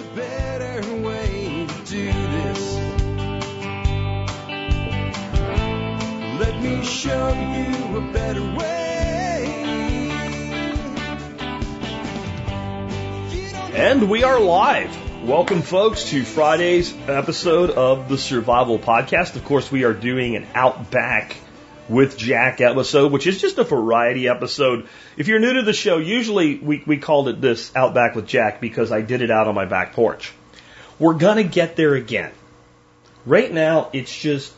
better way to do this. Let me show you a better way. And we are live. Welcome, folks, to Friday's episode of the Survival Podcast. Of course, we are doing an Outback with Jack episode, which is just a variety episode. If you're new to the show, usually we called it this Outback with Jack because I did it out on my back porch. We're going to get there again. Right now, it's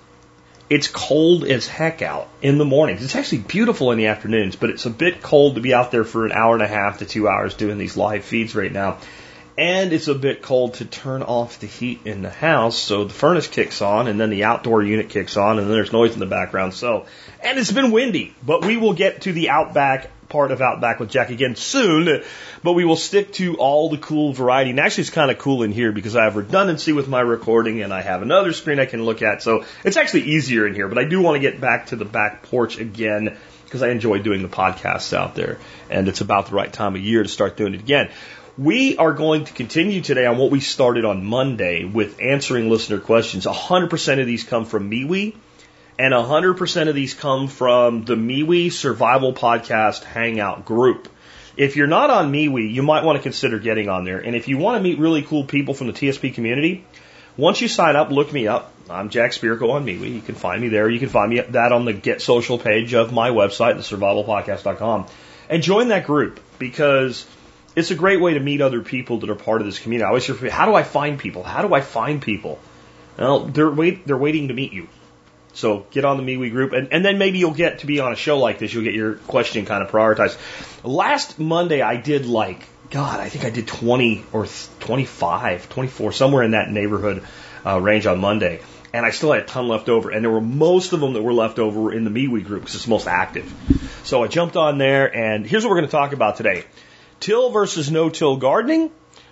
cold as heck out in the mornings. It's actually beautiful in the afternoons, but it's a bit cold to be out there for an hour and a half to 2 hours doing these live feeds right now. And it's a bit cold to turn off the heat in the house, so the furnace kicks on, and then the outdoor unit kicks on, and then there's noise in the background. And it's been windy, but we will get to the Outback part of Outback with Jack again soon, but we will stick to all the cool variety. And actually, it's kind of cool in here because I have redundancy with my recording, and I have another screen I can look at, so it's actually easier in here. But I do want to get back to the back porch again because I enjoy doing the podcasts out there, and it's about the right time of year to start doing it again. We are going to continue today on what we started on Monday with answering listener questions. 100% of these come from MeWe, and 100% of these come from the MeWe Survival Podcast Hangout group. If you're not on MeWe, you might want to consider getting on there. And if you want to meet really cool people from the TSP community, once you sign up, look me up. I'm Jack Spirko on MeWe. You can find me there. You can find me that on the Get Social page of my website, thesurvivalpodcast.com. And join that group because it's a great way to meet other people that are part of this community. I always hear, how do I find people? How do I find people? Well, they're waiting to meet you. So get on the MeWe group, and then maybe you'll get to be on a show like this. You'll get your question kind of prioritized. Last Monday, I did I think I did 20 or 25, 24, somewhere in that neighborhood range on Monday. And I still had a ton left over. And there were most of them that were left over in the MeWe group because it's most active. So I jumped on there, and here's what we're going to talk about today. Till versus no-till gardening,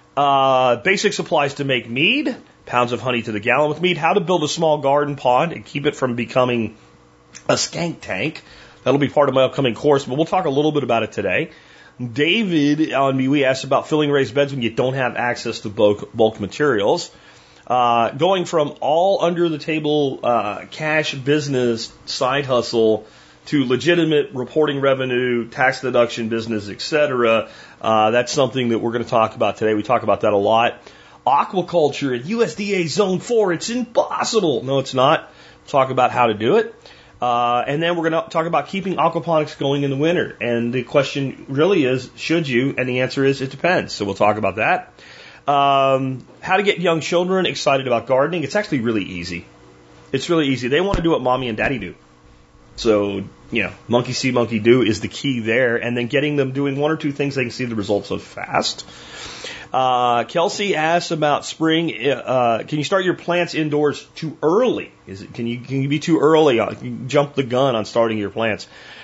basic supplies to make mead, pounds of honey to the gallon with mead, how to build a small garden pond and keep it from becoming a skank tank. That'll be part of my upcoming course, but we'll talk a little bit about it today. David on MeWe asked about filling raised beds when you don't have access to bulk materials. Going from all under-the-table cash business side hustle to legitimate reporting revenue, tax deduction business, etc. That's something that we're going to talk about today. We talk about that a lot. Aquaculture at USDA Zone 4, it's impossible. No, it's not. We'll talk about how to do it. And then we're going to talk about keeping aquaponics going in the winter. And the question really is, should you? And the answer is, it depends. So we'll talk about that. How to get young children excited about gardening. It's actually really easy. It's really easy. They want to do what mommy and daddy do. So, monkey see, monkey do is the key there. And then getting them doing one or two things they can see the results of fast. Kelsey asks about spring. Can you start your plants indoors too early? Can you be too early? Can you jump the gun on starting your plants?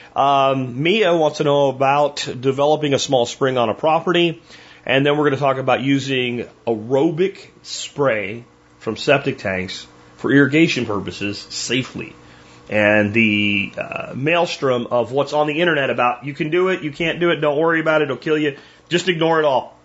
Mia wants to know about developing a small spring on a property. And then we're going to talk about using aerobic spray from septic tanks for irrigation purposes safely. And the maelstrom of what's on the internet about you can do it, you can't do it, don't worry about it, it'll kill you. Just ignore it all.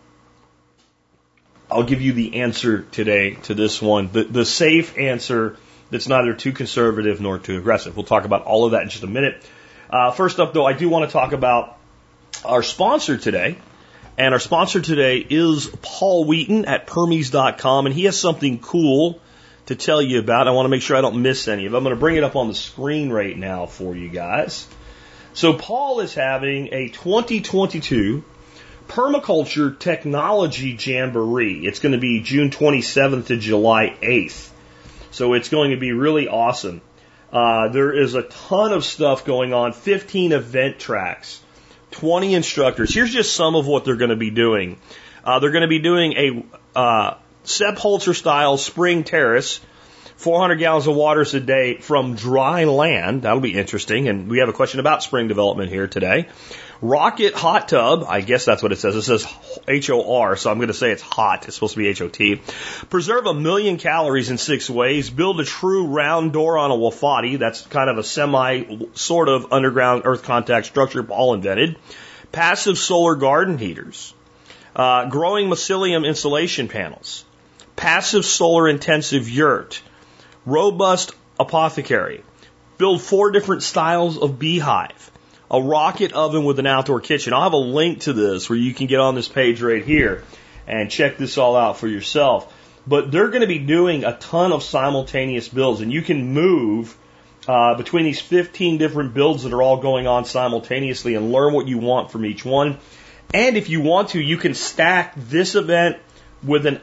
I'll give you the answer today to this one. The safe answer that's neither too conservative nor too aggressive. We'll talk about all of that in just a minute. First up, though, I do want to talk about our sponsor today. And our sponsor today is Paul Wheaton at Permies.com. And he has something cool to tell you about. I want to make sure I don't miss any of them. I'm going to bring it up on the screen right now for you guys. So Paul is having a 2022 Permaculture Technology Jamboree. It's going to be June 27th to July 8th. So it's going to be really awesome. There is a ton of stuff going on, 15 event tracks, 20 instructors. Here's just some of what they're going to be doing. They're going to be doing a Sepp Holzer style spring terrace, 400 gallons of water a day from dry land. That'll be interesting. And we have a question about spring development here today. Rocket hot tub. I guess that's what it says. It says HOR, so I'm going to say it's hot. It's supposed to be HOT. Preserve 1 million calories in 6 ways. Build a true round door on a Wafati. That's kind of a semi sort of underground earth contact structure Paul invented. Passive solar garden heaters. growing mycelium insulation panels, passive solar intensive yurt, robust apothecary, build 4 different styles of beehive, a rocket oven with an outdoor kitchen. I'll have a link to this where you can get on this page right here and check this all out for yourself. But they're going to be doing a ton of simultaneous builds, and you can move between these 15 different builds that are all going on simultaneously and learn what you want from each one. And if you want to, you can stack this event with an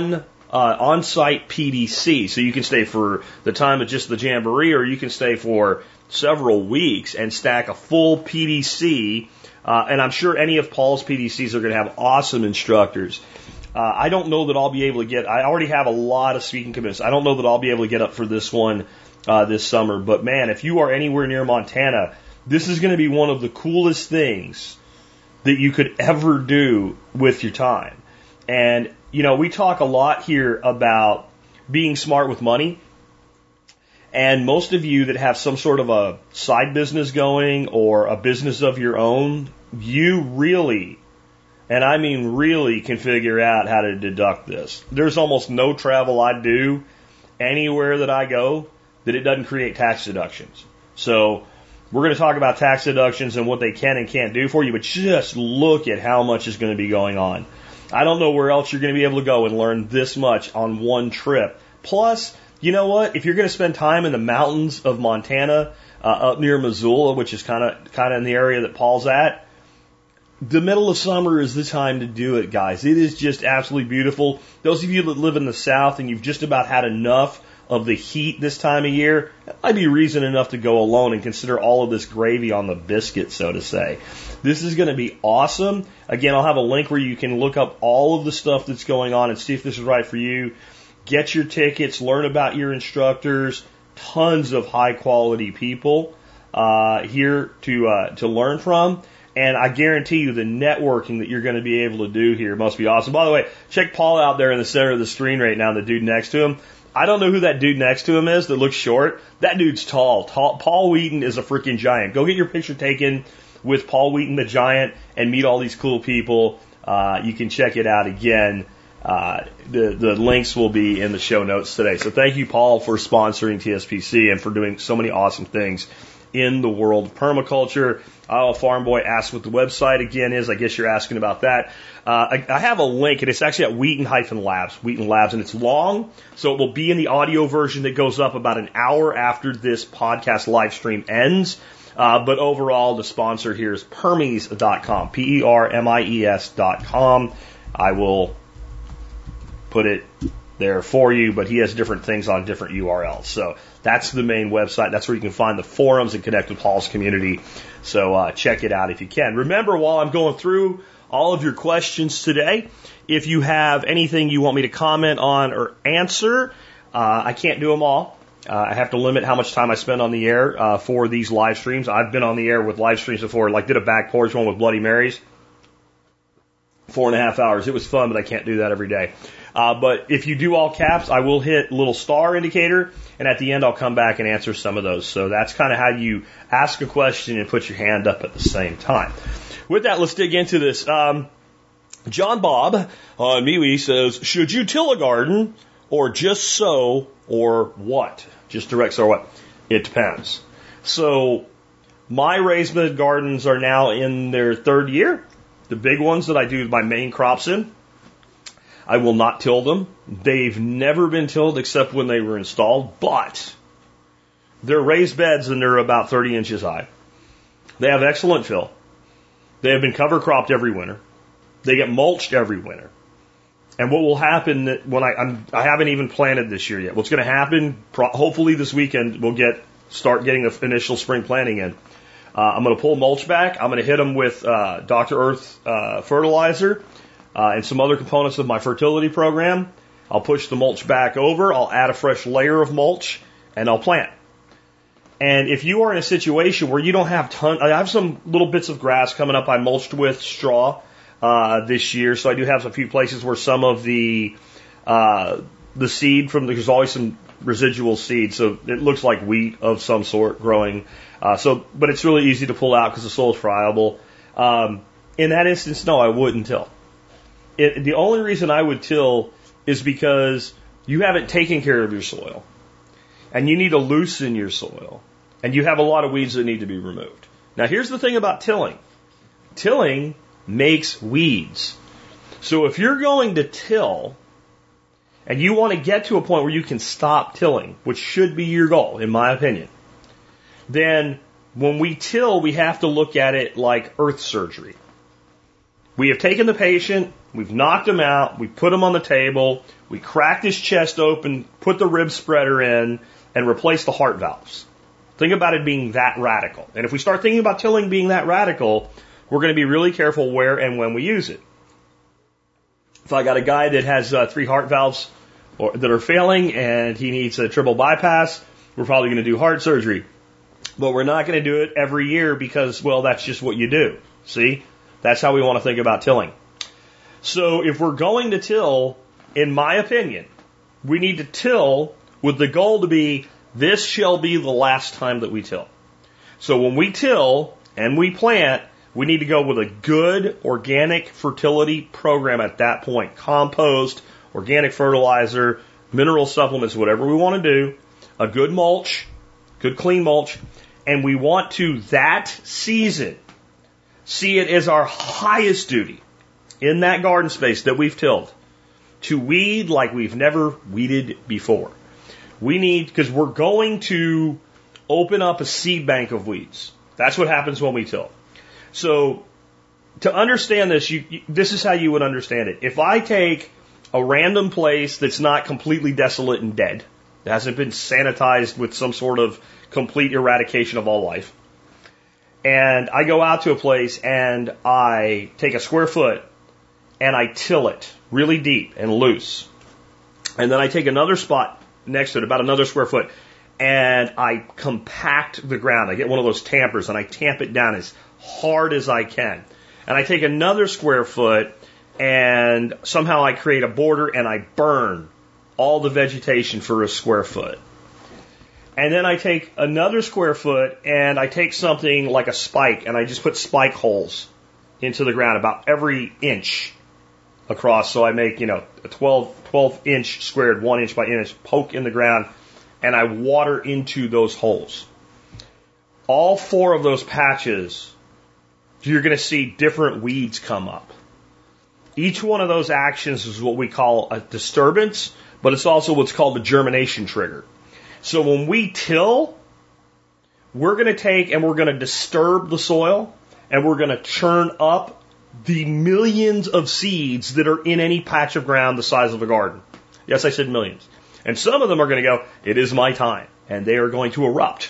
on-site PDC. So you can stay for the time of just the Jamboree, or you can stay for several weeks and stack a full PDC. And I'm sure any of Paul's PDCs are going to have awesome instructors. I don't know that I'll be able to get, I already have a lot of speaking commitments. I don't know that I'll be able to get up for this one this summer. But man, if you are anywhere near Montana, this is going to be one of the coolest things that you could ever do with your time. And, you know, we talk a lot here about being smart with money. And most of you that have some sort of a side business going or a business of your own, you really, and I mean really, can figure out how to deduct this. There's almost no travel I do anywhere that I go that it doesn't create tax deductions. So we're going to talk about tax deductions and what they can and can't do for you, but just look at how much is going to be going on. I don't know where else you're going to be able to go and learn this much on one trip. Plus, you know what? If you're going to spend time in the mountains of Montana, up near Missoula, which is kind of in the area that Paul's at, the middle of summer is the time to do it, guys. It is just absolutely beautiful. Those of you that live in the South and you've just about had enough of the heat this time of year, that might be reason enough to go alone and consider all of this gravy on the biscuit, so to say. This is going to be awesome. Again, I'll have a link where you can look up all of the stuff that's going on and see if this is right for you. Get your tickets, learn about your instructors, tons of high quality people here to learn from. And I guarantee you the networking that you're going to be able to do here must be awesome. By the way, check Paul out there in the center of the screen right now, the dude next to him. I don't know who that dude next to him is that looks short. That dude's tall. Paul Wheaton is a freaking giant. Go get your picture taken with Paul Wheaton the giant and meet all these cool people. You can check it out again. The links will be in the show notes today. So thank you, Paul, for sponsoring TSPC and for doing so many awesome things in the world of permaculture. Farm Boy asked what the website again is. I guess you're asking about that. I have a link, and it's actually at Wheaton Labs, and it's long, so it will be in the audio version that goes up about an hour after this podcast live stream ends. But overall, the sponsor here is Permies.com, Permies.com. I will put it there for you, but he has different things on different URLs. So that's the main website. That's where you can find the forums and connect with Paul's community. So check it out if you can. Remember, while I'm going through all of your questions today, if you have anything you want me to comment on or answer, I can't do them all. I have to limit how much time I spend on the air for these live streams. I've been on the air with live streams before, like did a back porch one with Bloody Marys. 4.5 hours. It was fun, but I can't do that every day. But if you do all caps, I will hit a little star indicator, and at the end I'll come back and answer some of those. So that's kind of how you ask a question and put your hand up at the same time. With that, let's dig into this. John Bob on MeWe says, should you till a garden or just sow or what? Just direct sow or what? It depends. So my raised bed gardens are now in their 3rd year. The big ones that I do my main crops in, I will not till them. They've never been tilled except when they were installed, but they're raised beds and they're about 30 inches high. They have excellent fill. They have been cover cropped every winter. They get mulched every winter. And what will happen when I haven't even planted this year yet. What's going to happen, hopefully this weekend, we'll start getting the initial spring planting in. I'm going to pull mulch back. I'm going to hit them with Dr. Earth fertilizer and some other components of my fertility program. I'll push the mulch back over. I'll add a fresh layer of mulch, and I'll plant. And if you are in a situation where you don't have I have some little bits of grass coming up. I mulched with straw this year, so I do have a few places where some of the seed there's always some residual seed, so it looks like wheat of some sort growing. But it's really easy to pull out because the soil is friable. In that instance, no, I wouldn't till. the only reason I would till is because you haven't taken care of your soil, and you need to loosen your soil, and you have a lot of weeds that need to be removed. Now, here's the thing about tilling. Tilling makes weeds. So if you're going to till, and you want to get to a point where you can stop tilling, which should be your goal, in my opinion, then when we till, we have to look at it like earth surgery. We have taken the patient, we've knocked him out, we put him on the table, we cracked his chest open, put the rib spreader in, and replaced the heart valves. Think about it being that radical. And if we start thinking about tilling being that radical, we're going to be really careful where and when we use it. If I got a guy that has 3 heart valves that are failing and he needs a triple bypass, we're probably going to do heart surgery. But we're not going to do it every year because, well, that's just what you do. See? That's how we want to think about tilling. So if we're going to till, in my opinion, we need to till with the goal to be, this shall be the last time that we till. So when we till and we plant, we need to go with a good organic fertility program at that point. Compost, organic fertilizer, mineral supplements, whatever we want to do, a good mulch, good clean mulch, and we want to, that season, see it as our highest duty in that garden space that we've tilled to weed like we've never weeded before. We need, because we're going to open up a seed bank of weeds. That's what happens when we till. So to understand this, this is how you would understand it. If I take a random place that's not completely desolate and dead, it hasn't been sanitized with some sort of complete eradication of all life, and I go out to a place and I take a square foot and I till it really deep and loose, and then I take another spot next to it, about another square foot, and I compact the ground. I get one of those tampers and I tamp it down as hard as I can. And I take another square foot and somehow I create a border and I burn all the vegetation for a square foot. And then I take another square foot and I take something like a spike and I just put spike holes into the ground about every inch across. So I make, a 12 inch squared, 1 inch by inch poke in the ground, and I water into those holes. All 4 of those patches, you're going to see different weeds come up. Each one of those actions is what we call a disturbance, but it's also what's called a germination trigger. So when we till, we're going to take and we're going to disturb the soil, and we're going to churn up the millions of seeds that are in any patch of ground the size of a garden. Yes, I said millions. And some of them are going to go, it is my time, and they are going to erupt.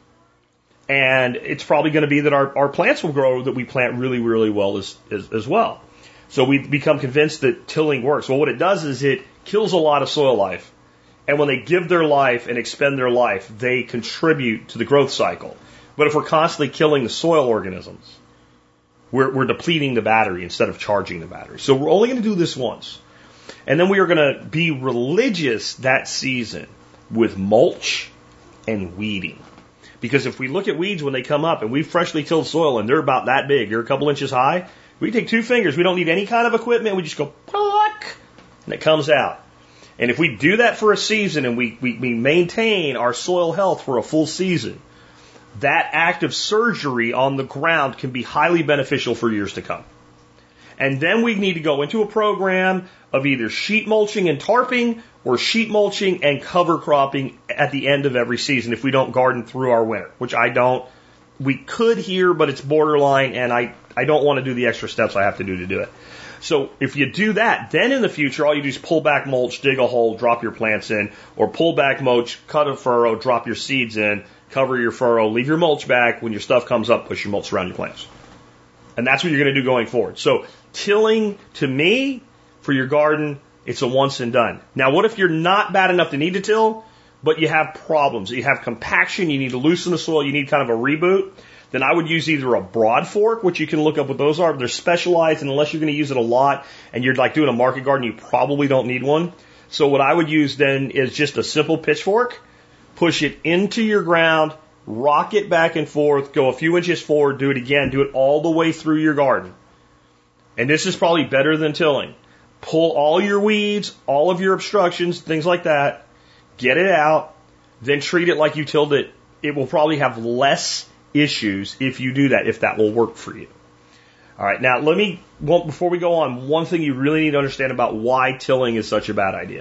And it's probably going to be that our plants will grow, that we plant really, really well as well. So we become convinced that tilling works. Well, what it does is it kills a lot of soil life. And when they give their life and expend their life, they contribute to the growth cycle. But if we're constantly killing the soil organisms, we're depleting the battery instead of charging the battery. So we're only going to do this once. And then we are going to be religious that season with mulch and weeding. Because if we look at weeds when they come up and we've freshly tilled soil and they're about that big, they're a couple inches high, we take 2 fingers, we don't need any kind of equipment, we just go pluck, and it comes out. And if we do that for a season and we maintain our soil health for a full season, that act of surgery on the ground can be highly beneficial for years to come. And then we need to go into a program of either sheet mulching and tarping or sheet mulching and cover cropping at the end of every season if we don't garden through our winter, which I don't. We could here, but it's borderline, and I don't want to do the extra steps I have to do it. So if you do that, then in the future, all you do is pull back mulch, dig a hole, drop your plants in, or pull back mulch, cut a furrow, drop your seeds in, cover your furrow, leave your mulch back. When your stuff comes up, push your mulch around your plants. And that's what you're going to do going forward. So tilling, to me, for your garden, it's a once and done. Now, what if you're not bad enough to need to till, but you have problems? You have compaction, you need to loosen the soil, you need kind of a reboot. Then I would use either a broad fork, which you can look up what those are. They're specialized, and unless you're going to use it a lot and you're like doing a market garden, you probably don't need one. So what I would use then is just a simple pitchfork, push it into your ground, rock it back and forth, go a few inches forward, do it again, do it all the way through your garden. And this is probably better than tilling. pull all your weeds, all of your obstructions, things like that, get it out, then treat it like you tilled it. It will probably have less issues if you do that, if that will work for you. All right, now before we go on, one thing you really need to understand about why tilling is such a bad idea.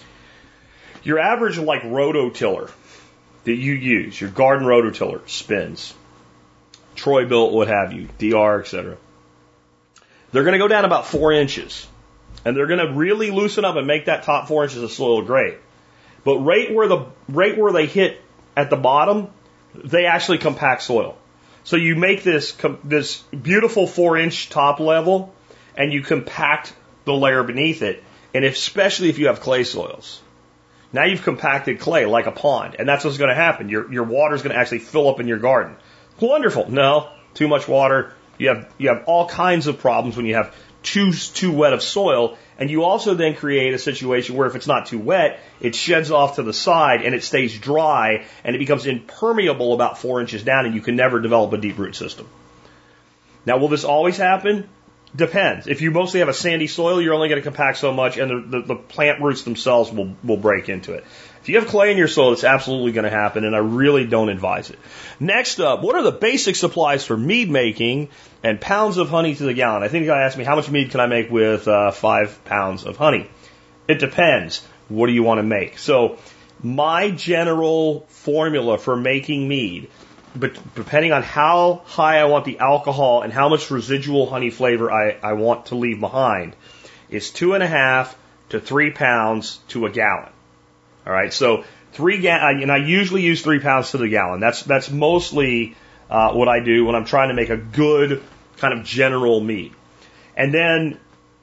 Your average rototiller that you use, your garden rototiller, spins, Troy-Bilt, what have you, DR, etc. They're going to go down about 4 inches, and they're going to really loosen up and make that top 4 inches of soil great. But right where they hit at the bottom, they actually compact soil. So you make this beautiful 4-inch top level, and you compact the layer beneath it, and especially if you have clay soils. Now you've compacted clay like a pond, and that's what's going to happen. Your water's going to actually fill up in your garden. Wonderful. No, too much water. You have all kinds of problems when you have too wet of soil, and you also then create a situation where if it's not too wet, it sheds off to the side and it stays dry and it becomes impermeable about 4 inches down, and you can never develop a deep root system. Now, will this always happen? Depends. If you mostly have a sandy soil, you're only going to compact so much, and the plant roots themselves will break into it. If you have clay in your soil, it's absolutely going to happen, and I really don't advise it. Next up, what are the basic supplies for mead making and pounds of honey to the gallon? I think you got to ask me, how much mead can I make with 5 pounds of honey? It depends. What do you want to make? So my general formula for making mead, but depending on how high I want the alcohol and how much residual honey flavor I want to leave behind, is 2.5 to 3 pounds to a gallon. All right, so and I usually use 3 pounds to the gallon. That's mostly what I do when I'm trying to make a good kind of general mead. And then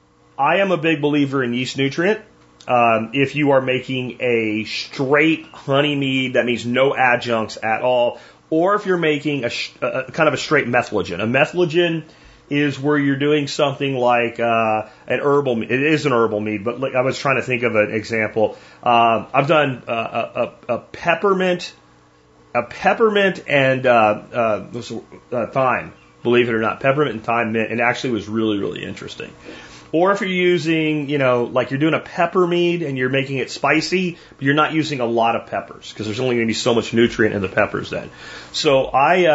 I am a big believer in yeast nutrient. If you are making a straight honey mead, that means no adjuncts at all, or if you're making a kind of a straight methylogen. A methylogen is where you're doing something like an herbal mead. It is an herbal mead, but I was trying to think of an example. I've done a peppermint and thyme. Believe it or not, peppermint and thyme mint, and actually was really, really interesting. Or if you're using, like you're doing a pepper mead and you're making it spicy, but you're not using a lot of peppers because there's only going to be so much nutrient in the peppers then. So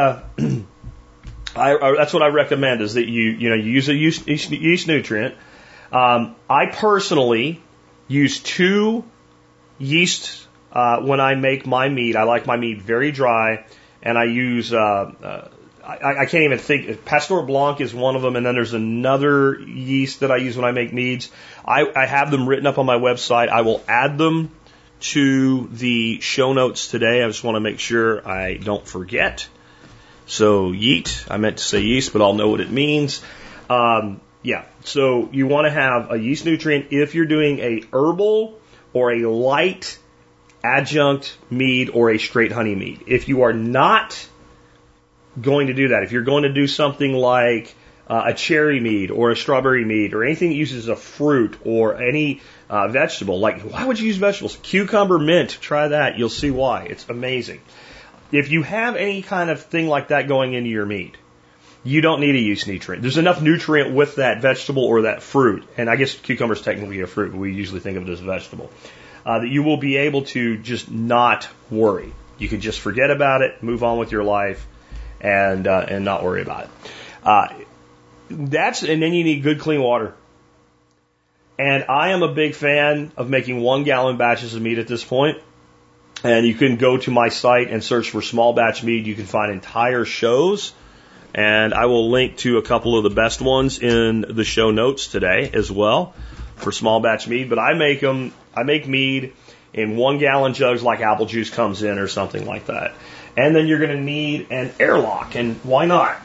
that's what I recommend, is that you use a yeast nutrient. I personally use 2 yeast when I make my mead. I like my mead very dry, and I use I can't even think. Pasteur Blanc is one of them, and then there's another yeast that I use when I make meads. I have them written up on my website. I will add them to the show notes today. I just want to make sure I don't forget. So yeast, I meant to say yeast, but I'll know what it means. So you want to have a yeast nutrient if you're doing a herbal or a light adjunct mead or a straight honey mead. If you are not going to do that, if you're going to do something like a cherry mead or a strawberry mead or anything that uses a fruit or any vegetable, like why would you use vegetables? Cucumber, mint, try that. You'll see why. It's amazing. If you have any kind of thing like that going into your mead, you don't need a yeast nutrient. There's enough nutrient with that vegetable or that fruit, and I guess cucumber is technically a fruit, but we usually think of it as a vegetable, that you will be able to just not worry. You can just forget about it, move on with your life, and not worry about it. And then you need good clean water. And I am a big fan of making 1 gallon batches of mead at this point. And you can go to my site and search for small batch mead. You can find entire shows, and I will link to a couple of the best ones in the show notes today as well for small batch mead. But I make mead in 1 gallon jugs like apple juice comes in or something like that. And then you're going to need an airlock, and why not?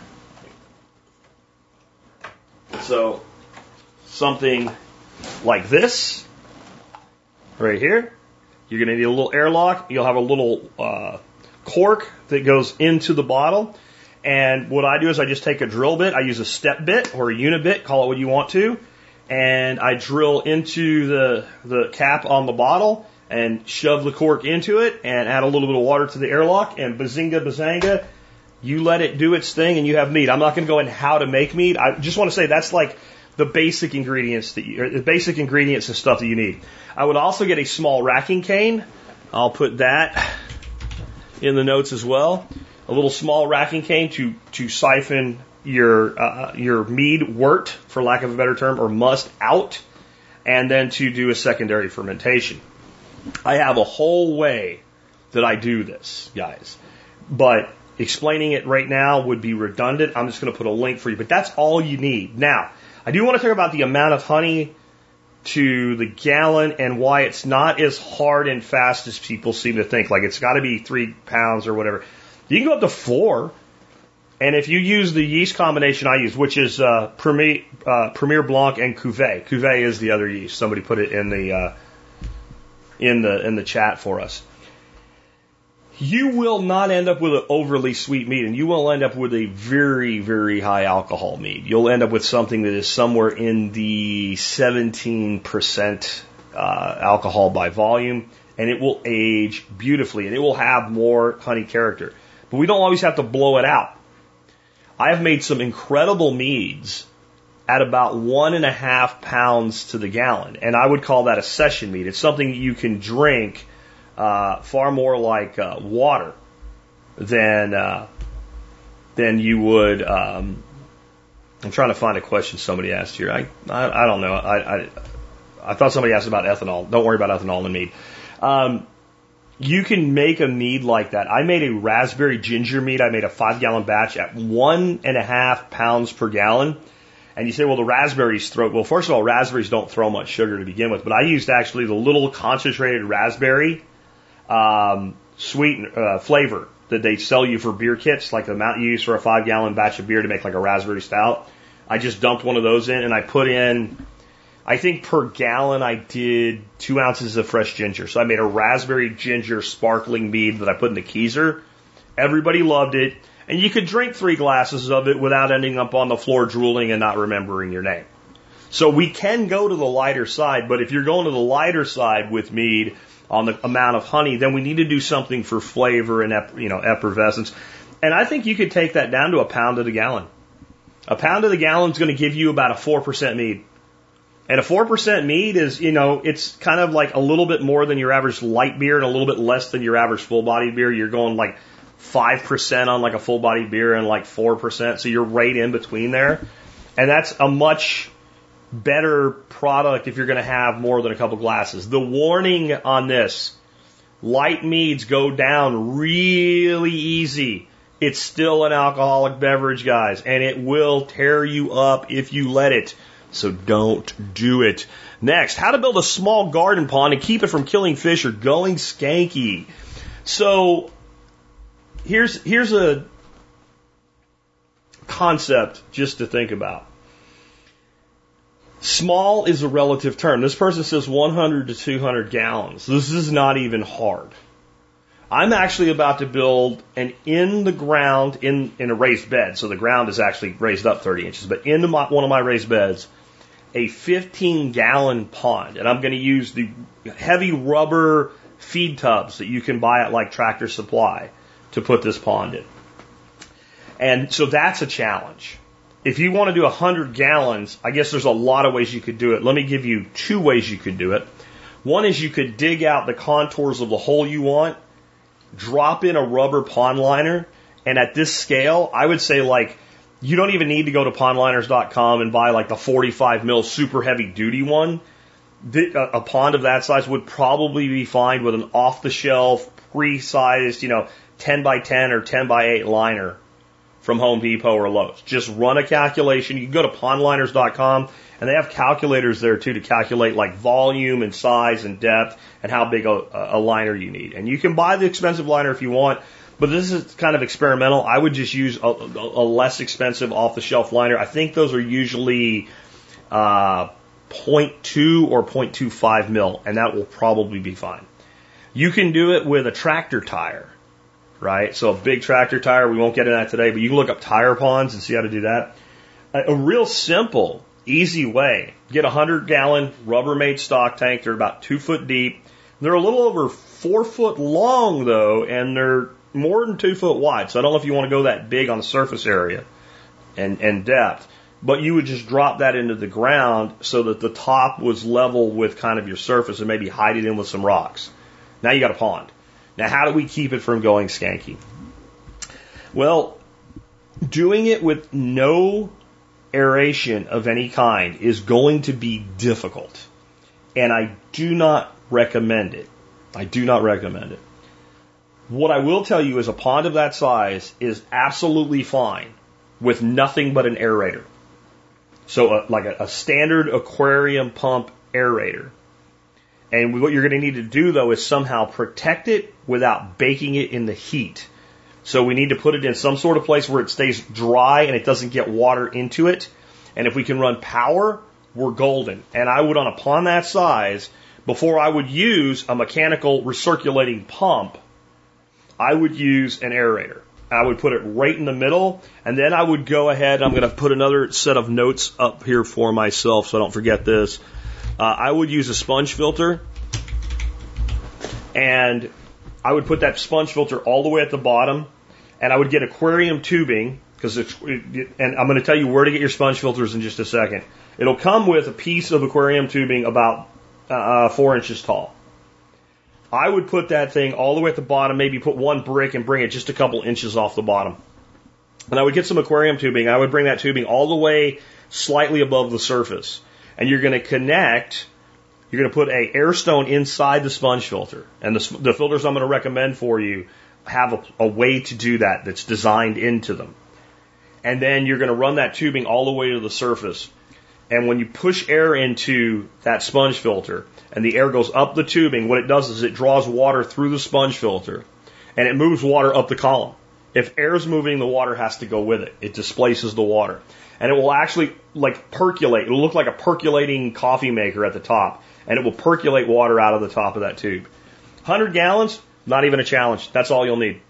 So something like this right here. You're going to need a little airlock. You'll have a little cork that goes into the bottle. And what I do is I just take a drill bit. I use a step bit or a unit bit, call it what you want to. And I drill into the cap on the bottle and shove the cork into it and add a little bit of water to the airlock. And bazinga, bazanga, you let it do its thing and you have mead. I'm not going to go into how to make mead. I just want to say that's like the basic ingredients and stuff that you need. I would also get a small racking cane. I'll put that in the notes as well. A little small racking cane to siphon your mead wort, for lack of a better term, or must out, and then to do a secondary fermentation. I have a whole way that I do this, guys, but explaining it right now would be redundant. I'm just going to put a link for you, but that's all you need. Now, I do want to talk about the amount of honey to the gallon and why it's not as hard and fast as people seem to think. Like it's got to be 3 pounds or whatever. You can go up to 4. And if you use the yeast combination I use, which is Premier Blanc and Cuvée. Cuvée is the other yeast. Somebody put it in the chat for us. You will not end up with an overly sweet mead, and you will end up with a very, very high alcohol mead. You'll end up with something that is somewhere in the 17% alcohol by volume, and it will age beautifully, and it will have more honey character. But we don't always have to blow it out. I have made some incredible meads at about 1.5 pounds to the gallon, and I would call that a session mead. It's something you can drink far more like water than you would. I'm trying to find a question somebody asked here. I don't know. I thought somebody asked about ethanol. Don't worry about ethanol in mead. You can make a mead like that. I made a raspberry ginger mead. I made a 5-gallon batch at 1.5 pounds per gallon. And you say, well, the raspberries well, first of all, raspberries don't throw much sugar to begin with, but I used actually the little concentrated raspberry flavor that they sell you for beer kits, like the amount you use for a 5-gallon batch of beer to make like a raspberry stout. I just dumped one of those in, and I put in, I think per gallon I did 2 ounces of fresh ginger. So I made a raspberry ginger sparkling mead that I put in the Keezer. Everybody loved it. And you could drink 3 glasses of it without ending up on the floor drooling and not remembering your name. So we can go to the lighter side, but if you're going to the lighter side with mead on the amount of honey, then we need to do something for flavor and effervescence. And I think you could take that down to 1 pound to the gallon. 1 pound to the gallon is going to give you about a 4% mead. And a 4% mead is, it's kind of like a little bit more than your average light beer and a little bit less than your average full-bodied beer. You're going like 5% on like a full-bodied beer and like 4%. So you're right in between there. And that's a much better product if you're going to have more than a couple glasses. The warning on this, light meads go down really easy. It's still an alcoholic beverage, guys, and it will tear you up if you let it. So don't do it. Next, how to build a small garden pond and keep it from killing fish or going skanky. So here's a concept just to think about. Small is a relative term. This person says 100 to 200 gallons. This is not even hard. I'm actually about to build an in the ground, in a raised bed. So the ground is actually raised up 30 inches, but into one of my raised beds, a 15-gallon pond. And I'm going to use the heavy rubber feed tubs that you can buy at like Tractor Supply to put this pond in. And so that's a challenge. If you want to do 100 gallons, I guess there's a lot of ways you could do it. Let me give you 2 ways you could do it. One is you could dig out the contours of the hole you want, drop in a rubber pond liner, and at this scale, I would say like you don't even need to go to pondliners.com and buy like the 45 mil super heavy duty one. A pond of that size would probably be fine with an off-the-shelf, pre-sized, 10 by 10 or 10 by 8 liner from Home Depot or Lowe's. Just run a calculation. You can go to pondliners.com, and they have calculators there too to calculate like volume and size and depth and how big a liner you need. And you can buy the expensive liner if you want, but this is kind of experimental. I would just use a less expensive off-the-shelf liner. I think those are usually 0.2 or 0.25 mil, and that will probably be fine. You can do it with a tractor tire. Right? So a big tractor tire, we won't get into that today, but you can look up tire ponds and see how to do that. A real simple, easy way. Get a 100-gallon Rubbermaid stock tank. They're about 2 foot deep. They're a little over 4 foot long, though, and they're more than 2 foot wide. So I don't know if you want to go that big on the surface area and depth. but you would just drop that into the ground so that the top was level with kind of your surface and maybe hide it in with some rocks. Now you got a pond. Now how do we keep it from going skanky? Well, doing it with no aeration of any kind is going to be difficult. And I do not recommend it. I do not recommend it. What I will tell you is a pond of that size is absolutely fine with nothing but an aerator. So like a standard aquarium pump aerator. And what you're going to need to do, though, is somehow protect it without baking it in the heat. So we need to put it in some sort of place where it stays dry and it doesn't get water into it. And if we can run power, we're golden. And I would, on a pond that size, before I would use a mechanical recirculating pump, I would use an aerator. I would put it right in the middle, and then I would go ahead. I'm going to put another set of notes up here for myself so I don't forget this. I would use a sponge filter, and I would put that sponge filter all the way at the bottom, and I would get aquarium tubing, and I'm going to tell you where to get your sponge filters in just a second. It'll come with a piece of aquarium tubing about 4 inches tall. I would put that thing all the way at the bottom, maybe put one brick and bring it just a couple inches off the bottom. And I would get some aquarium tubing. I would bring that tubing all the way slightly above the surface. And you're going to put a air stone inside the sponge filter. And the filters I'm going to recommend for you have a way to do that that's designed into them. And then you're going to run that tubing all the way to the surface. And when you push air into that sponge filter and the air goes up the tubing, what it does is it draws water through the sponge filter and it moves water up the column. If air is moving, the water has to go with it. It displaces the water. And it will actually like percolate. It will look like a percolating coffee maker at the top. And it will percolate water out of the top of that tube. 100 gallons, not even a challenge. That's all you'll need.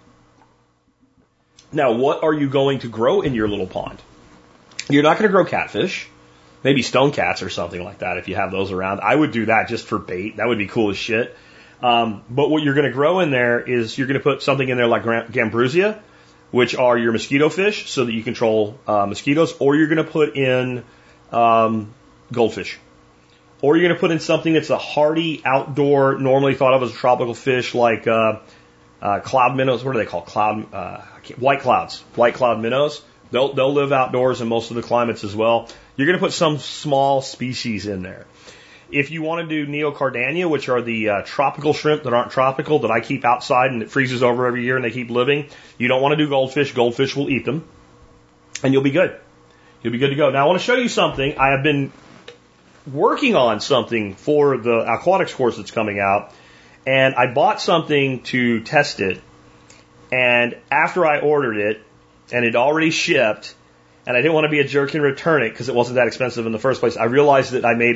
Now, what are you going to grow in your little pond? You're not going to grow catfish. Maybe stone cats or something like that if you have those around. I would do that just for bait. That would be cool as shit. But what you're going to grow in there is you're going to put something in there like Gambrusia, which are your mosquito fish so that you control mosquitoes, or you're going to put in goldfish. Or you're going to put in something that's a hardy outdoor, normally thought of as a tropical fish like cloud minnows. What are they called? White clouds. White cloud minnows. They'll live outdoors in most of the climates as well. You're going to put some small species in there. If you want to do neocardania, which are the tropical shrimp that aren't tropical, that I keep outside and it freezes over every year and they keep living, you don't want to do goldfish. Goldfish will eat them. And you'll be good. You'll be good to go. Now I want to show you something. I have been working on something for the aquatics course that's coming out, and I bought something to test it, and after I ordered it, and it already shipped, and I didn't want to be a jerk and return it because it wasn't that expensive in the first place, I realized that I made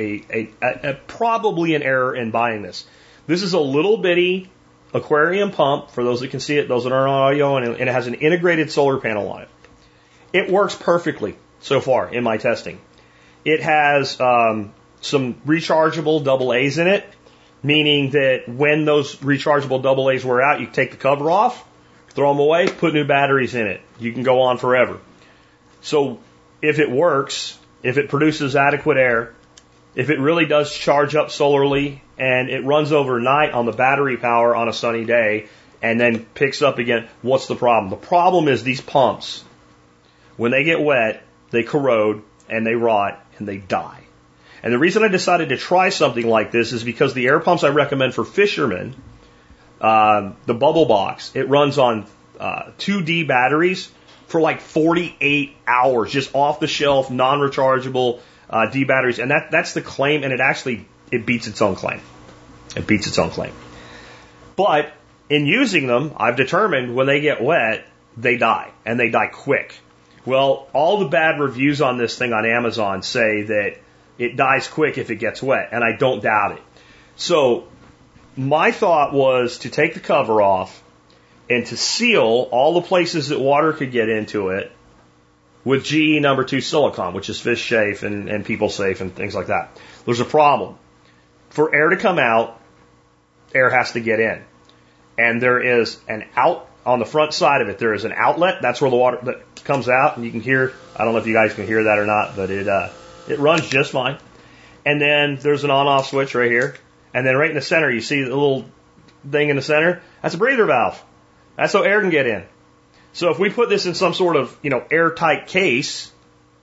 a probably an error in buying this. This is a little bitty aquarium pump, for those that can see it, those that are on audio, and it has an integrated solar panel on it. It works perfectly so far in my testing. It has some rechargeable AA's in it, meaning that when those rechargeable AA's wear out, you take the cover off, throw them away, put new batteries in it. You can go on forever. So if it works, if it produces adequate air, if it really does charge up solarly and it runs overnight on the battery power on a sunny day and then picks up again, what's the problem? The problem is these pumps, when they get wet, they corrode and they rot and they die. And the reason I decided to try something like this is because the air pumps I recommend for fishermen, the Bubble Box, it runs on 2D batteries for like 48 hours, just off the shelf, non-rechargeable D batteries. And that's the claim, and it beats its own claim. It beats its own claim. But in using them, I've determined when they get wet, they die, and they die quick. Well, all the bad reviews on this thing on Amazon say that it dies quick if it gets wet, and I don't doubt it. So my thought was to take the cover off and to seal all the places that water could get into it with GE number 2 silicone, which is fish safe and people safe and things like that. There's a problem. For air to come out, air has to get in. And there is an on the front side of it, there is an outlet. That's where the water that comes out, and you can hear. I don't know if you guys can hear that or not, but it runs just fine. And then there's an on-off switch right here, and then right in the center, you see the little thing in the center. That's a breather valve. That's so air can get in. So if we put this in some sort of airtight case,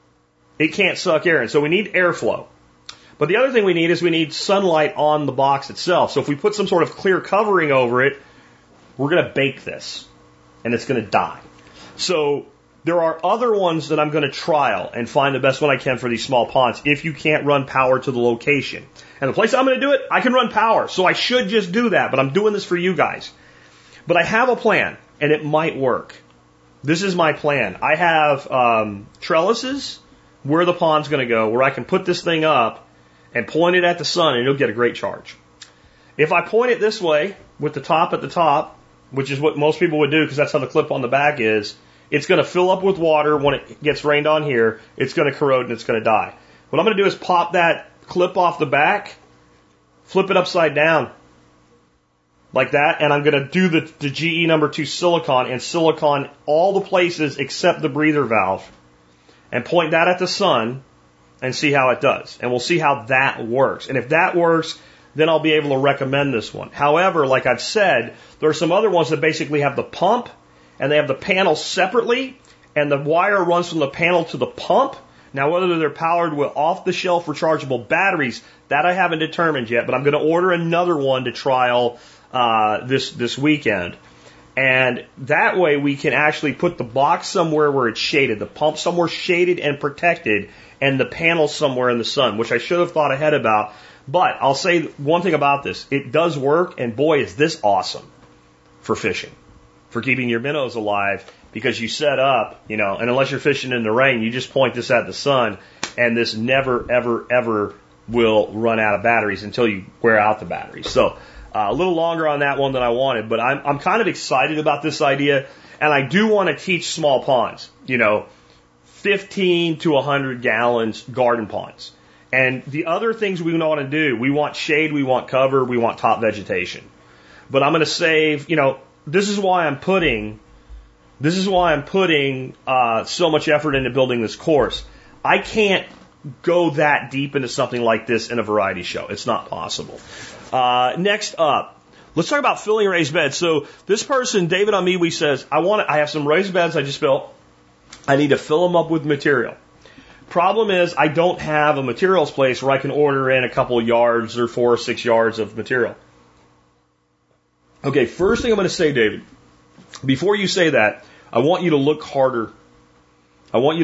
it can't suck air in. So we need airflow. But the other thing we need sunlight on the box itself. So if we put some sort of clear covering over it, we're going to bake this, and it's going to die. So there are other ones that I'm going to trial and find the best one I can for these small ponds if you can't run power to the location. And the place I'm going to do it, I can run power. So I should just do that, but I'm doing this for you guys. But I have a plan, and it might work. This is my plan. I have trellises where the pond's going to go, where I can put this thing up and point it at the sun, and it'll get a great charge. If I point it this way, with the top at the top, which is what most people would do because that's how the clip on the back is, it's going to fill up with water when it gets rained on here. It's going to corrode and it's going to die. What I'm going to do is pop that clip off the back, flip it upside down like that, and I'm going to do the GE number 2 silicon and silicon all the places except the breather valve and point that at the sun and see how it does. And we'll see how that works. And if that works, then I'll be able to recommend this one. However, like I've said, there are some other ones that basically have the pump and they have the panel separately and the wire runs from the panel to the pump. Now, whether they're powered with off-the-shelf rechargeable batteries, that I haven't determined yet, but I'm going to order another one to trial this weekend. And that way we can actually put the box somewhere where it's shaded, the pump somewhere shaded and protected, and the panel somewhere in the sun, which I should have thought ahead about. But I'll say one thing about this. It does work, and boy, is this awesome for fishing, for keeping your minnows alive, because you set up, and unless you're fishing in the rain, you just point this at the sun, and this never, ever, ever will run out of batteries until you wear out the batteries. So a little longer on that one than I wanted, but I'm kind of excited about this idea, and I do want to teach small ponds, 15 to 100 gallons garden ponds. And the other things we want to do, we want shade, we want cover, we want top vegetation. But I'm going to save, this is why I'm putting so much effort into building this course. I can't go that deep into something like this in a variety show. It's not possible. Next up, let's talk about filling raised beds. So this person, David Amiwi, says, I have some raised beds I just built. I need to fill them up with material. Problem is, I don't have a materials place where I can order in a couple yards or 4 or 6 yards of material. Okay, first thing I'm going to say, David, before you say that, I want you to look harder. I want you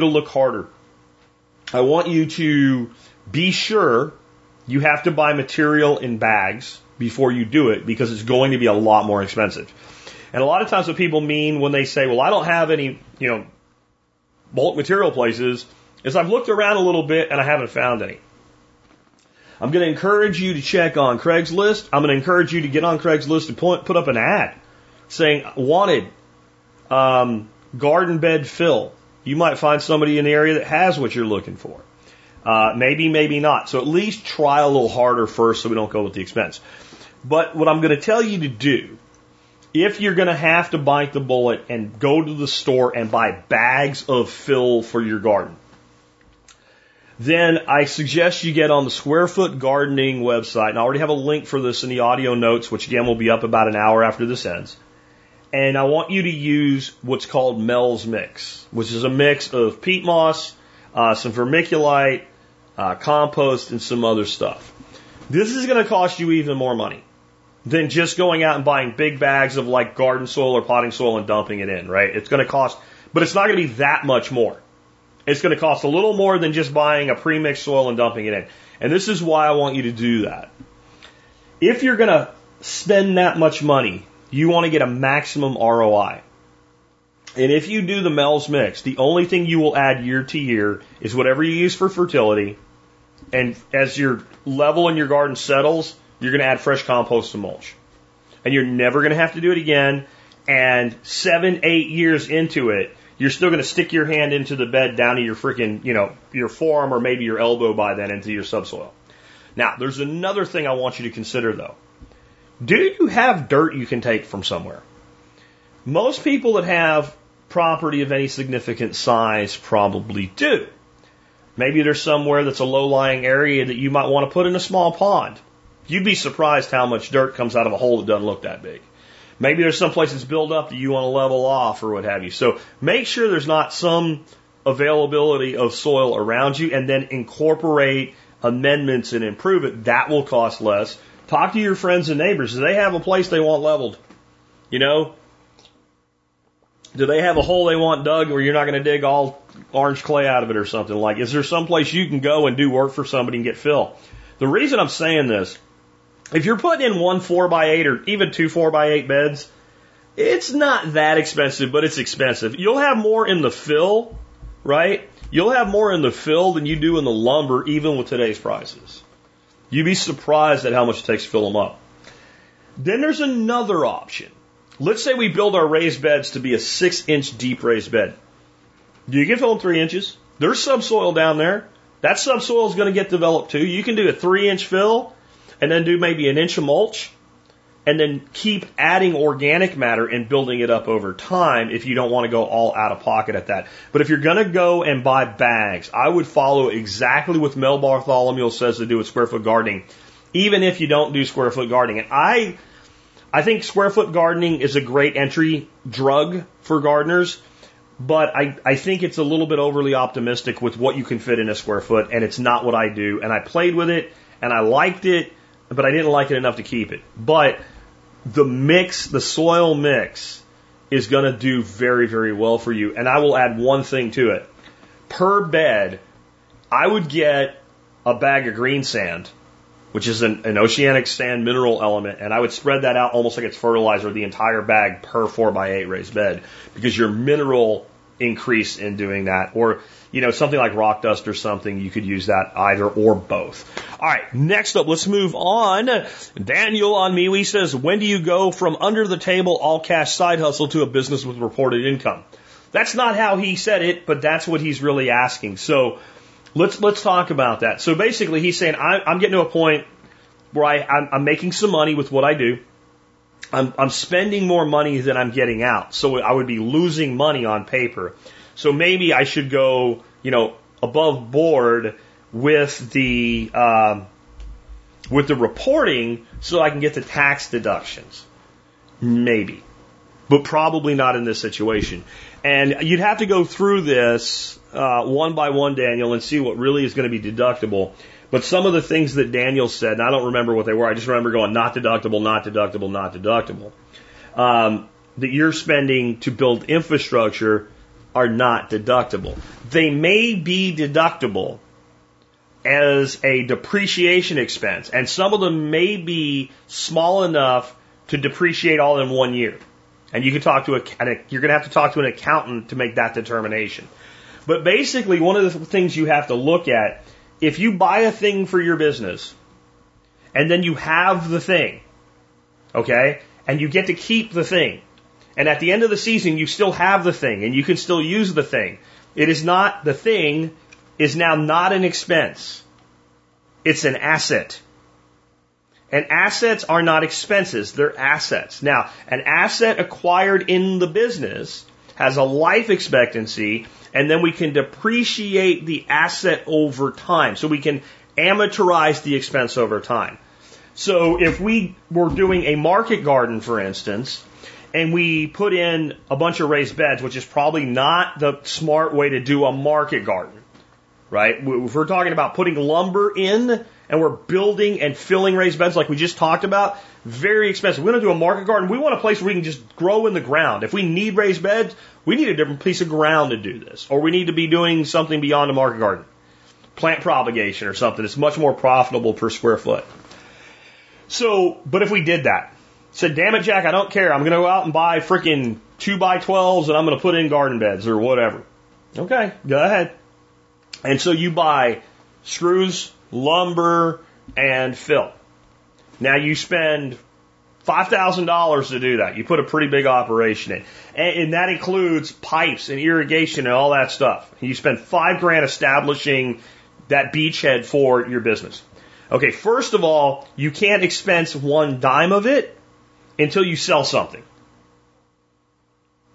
to be sure you have to buy material in bags before you do it because it's going to be a lot more expensive. And a lot of times what people mean when they say, well, I don't have any, bulk material places, is I've looked around a little bit and I haven't found any. I'm going to encourage you to check on Craigslist. I'm going to encourage you to get on Craigslist and put up an ad saying, wanted, garden bed fill. You might find somebody in the area that has what you're looking for. Maybe, maybe not. So at least try a little harder first so we don't go with the expense. But what I'm going to tell you to do, if you're going to have to bite the bullet and go to the store and buy bags of fill for your garden, then I suggest you get on the Square Foot Gardening website. And I already have a link for this in the audio notes, which again will be up about an hour after this ends. And I want you to use what's called Mel's Mix, which is a mix of peat moss, some vermiculite, compost, and some other stuff. This is going to cost you even more money than just going out and buying big bags of like garden soil or potting soil and dumping it in, right? It's going to cost, but it's not going to be that much more. It's going to cost a little more than just buying a pre-mixed soil and dumping it in. And this is why I want you to do that. If you're going to spend that much money, you want to get a maximum ROI. And if you do the Mel's Mix, the only thing you will add year to year is whatever you use for fertility. And as your level in your garden settles, you're going to add fresh compost and mulch. And you're never going to have to do it again. And 7, 8 years into it, you're still going to stick your hand into the bed down to your freaking, your forearm or maybe your elbow by then into your subsoil. Now, there's another thing I want you to consider though. Do you have dirt you can take from somewhere? Most people that have property of any significant size probably do. Maybe there's somewhere that's a low-lying area that you might want to put in a small pond. You'd be surprised how much dirt comes out of a hole that doesn't look that big. Maybe there's some place that's built up that you want to level off or what have you. So make sure there's not some availability of soil around you, and then incorporate amendments and improve it. That will cost less. Talk to your friends and neighbors. Do they have a place they want leveled? You know? Do they have a hole they want dug where you're not going to dig all orange clay out of it or something? Like, is there some place you can go and do work for somebody and get fill? The reason I'm saying this, if you're putting in 1 4x8 or even 2 4x8 beds, it's not that expensive, but it's expensive. You'll have more in the fill, right? You'll have more in the fill than you do in the lumber, even with today's prices. You'd be surprised at how much it takes to fill them up. Then there's another option. Let's say we build our raised beds to be a 6-inch deep raised bed. You can fill them 3 inches. There's subsoil down there. That subsoil is going to get developed too. You can do a 3-inch fill and then do maybe an inch of mulch and then keep adding organic matter and building it up over time if you don't want to go all out of pocket at that. But if you're going to go and buy bags, I would follow exactly what Mel Bartholomew says to do with square foot gardening, even if you don't do square foot gardening. And I think square foot gardening is a great entry drug for gardeners, but I think it's a little bit overly optimistic with what you can fit in a square foot, and it's not what I do. And I played with it, and I liked it, but I didn't like it enough to keep it. But the mix, the soil mix, is going to do very, very well for you. And I will add one thing to it. Per bed, I would get a bag of green sand, which is an oceanic sand mineral element, and I would spread that out almost like it's fertilizer, the entire bag per 4x8 raised bed, because your mineral increase in doing that, or something like rock dust or something, you could use that either or both. All right, next up, let's move on. Daniel on MeWe says, when do you go from under the table all cash side hustle to a business with reported income? That's not how he said it, but that's what he's really asking. So let's talk about that. So basically, he's saying I'm getting to a point where I'm making some money with what I do. I'm spending more money than I'm getting out, so I would be losing money on paper. So maybe I should go, above board with the reporting so I can get the tax deductions. Maybe, but probably not in this situation. And you'd have to go through this one by one, Daniel, and see what really is going to be deductible. But some of the things that Daniel said, and I don't remember what they were, I just remember going, not deductible, not deductible, not deductible, that you're spending to build infrastructure are not deductible. They may be deductible as a depreciation expense, and some of them may be small enough to depreciate all in 1 year. And you can talk to you're going to have to talk to an accountant to make that determination. But basically, one of the things you have to look at, if you buy a thing for your business, and then you have the thing, okay, and you get to keep the thing, and at the end of the season you still have the thing, and you can still use the thing, the thing is now not an expense. It's an asset. And assets are not expenses, they're assets. Now, an asset acquired in the business has a life expectancy, and then we can depreciate the asset over time. So we can amortize the expense over time. So if we were doing a market garden, for instance, and we put in a bunch of raised beds, which is probably not the smart way to do a market garden, right? If we're talking about putting lumber in and we're building and filling raised beds like we just talked about, very expensive. We're going to do a market garden. We want a place where we can just grow in the ground. If we need raised beds, we need a different piece of ground to do this. Or we need to be doing something beyond a market garden. Plant propagation or something. It's much more profitable per square foot. So, but if we did that, said, damn it, Jack, I don't care. I'm going to go out and buy freaking 2x12s and I'm going to put in garden beds or whatever. Okay, go ahead. And so you buy screws, lumber, and fill. Now you spend $5,000 to do that. You put a pretty big operation in. And that includes pipes and irrigation and all that stuff. You spend $5,000 establishing that beachhead for your business. Okay, first of all, you can't expense one dime of it until you sell something.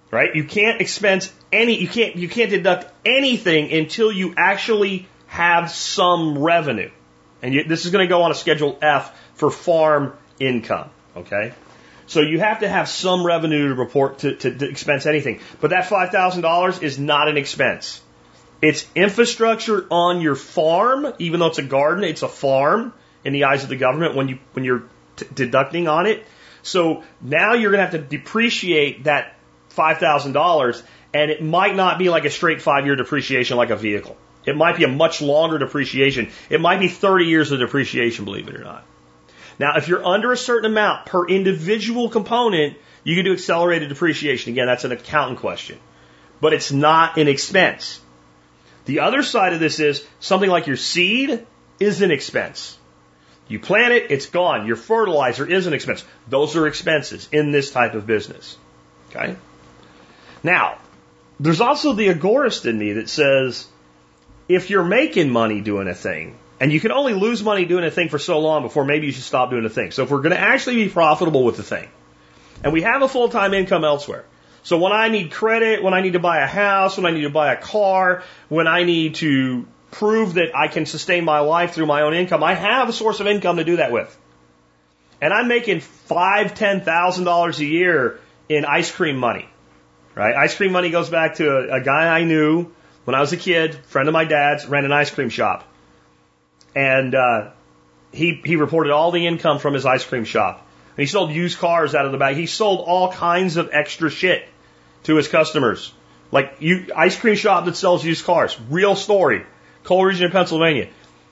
right? You can't expense you can't deduct anything until you actually have some revenue. And this is going to go on a Schedule F for farm income, okay? So you have to have some revenue to report to expense anything. But that $5,000 is not an expense. It's infrastructure on your farm, even though it's a garden, it's a farm in the eyes of the government when you're deducting on it. So now you're going to have to depreciate that $5,000, and it might not be like a straight 5-year depreciation like a vehicle. It might be a much longer depreciation. It might be 30 years of depreciation, believe it or not. Now, if you're under a certain amount per individual component, you can do accelerated depreciation. Again, that's an accountant question. But it's not an expense. The other side of this is something like your seed is an expense. You plant it, it's gone. Your fertilizer is an expense. Those are expenses in this type of business. Okay? Now, there's also the agorist in me that says, if you're making money doing a thing, and you can only lose money doing a thing for so long before maybe you should stop doing the thing. So if we're going to actually be profitable with the thing, and we have a full-time income elsewhere, so when I need credit, when I need to buy a house, when I need to buy a car, when I need to prove that I can sustain my life through my own income, I have a source of income to do that with. And I'm making $5,000, $10,000 a year in ice cream money, right? Ice cream money goes back to a guy I knew when I was a kid, friend of my dad's, ran an ice cream shop. And he reported all the income from his ice cream shop. And he sold used cars out of the bag. He sold all kinds of extra shit to his customers. Like ice cream shop that sells used cars. Real story. Coal region of Pennsylvania.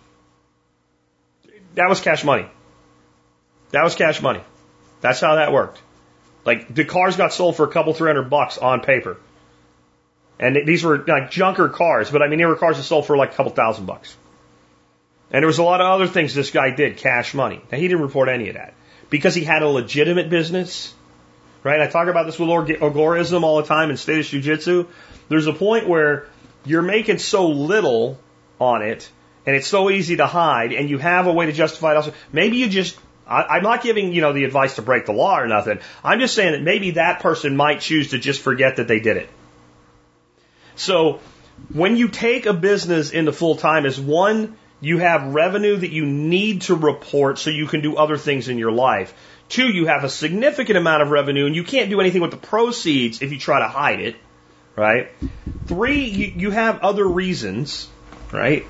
That was cash money. That was cash money. That's how that worked. Like the cars got sold for a couple $300 on paper. And these were like junker cars, but I mean they were cars that sold for like a couple $1,000. And there was a lot of other things this guy did, cash money. Now, he didn't report any of that because he had a legitimate business, right? I talk about this with agorism all the time in Status Jiu-Jitsu. There's a point where you're making so little on it, and it's so easy to hide, and you have a way to justify it also. Maybe you just, I'm not giving, the advice to break the law or nothing. I'm just saying that maybe that person might choose to just forget that they did it. So when you take a business into full time, is one, you have revenue that you need to report so you can do other things in your life. 2, you have a significant amount of revenue and you can't do anything with the proceeds if you try to hide it, right? 3, you have other reasons, right?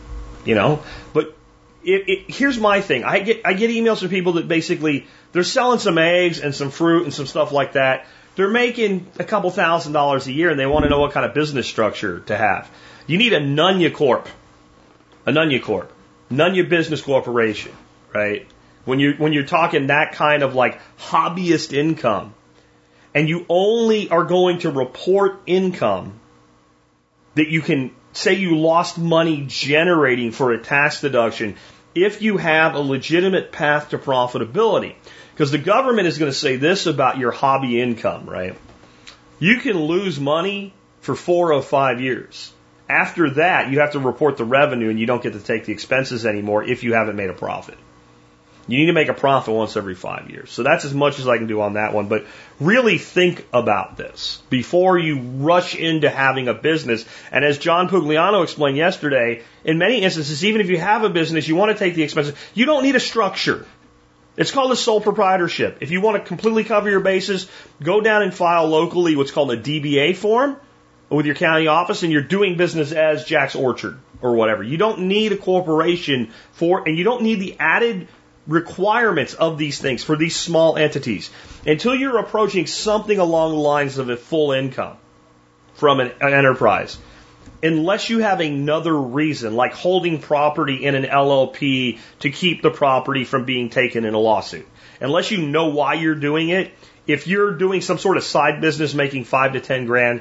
But here's my thing. I get emails from people that basically they're selling some eggs and some fruit and some stuff like that. They're making a couple $1,000s a year and they want to know what kind of business structure to have. You need a Nunya Corp. A Nunya Corp. Nunya Business Corporation, right? When you're talking that kind of like hobbyist income, and you only are going to report income that you can say you lost money generating for a tax deduction if you have a legitimate path to profitability. Because the government is going to say this about your hobby income, right? You can lose money for 4 or 5 years. After that, you have to report the revenue and you don't get to take the expenses anymore if you haven't made a profit. You need to make a profit once every 5 years. So that's as much as I can do on that one. But really think about this before you rush into having a business. And as John Pugliano explained yesterday, in many instances, even if you have a business, you want to take the expenses, you don't need a structure. It's called a sole proprietorship. If you want to completely cover your bases, go down and file locally what's called a DBA form with your county office, and you're doing business as Jack's Orchard or whatever. You don't need a corporation and you don't need the added requirements of these things for these small entities until you're approaching something along the lines of a full income from an enterprise. Unless you have another reason, like holding property in an LLP to keep the property from being taken in a lawsuit. Unless you know why you're doing it, if you're doing some sort of side business making $5 to $10 grand,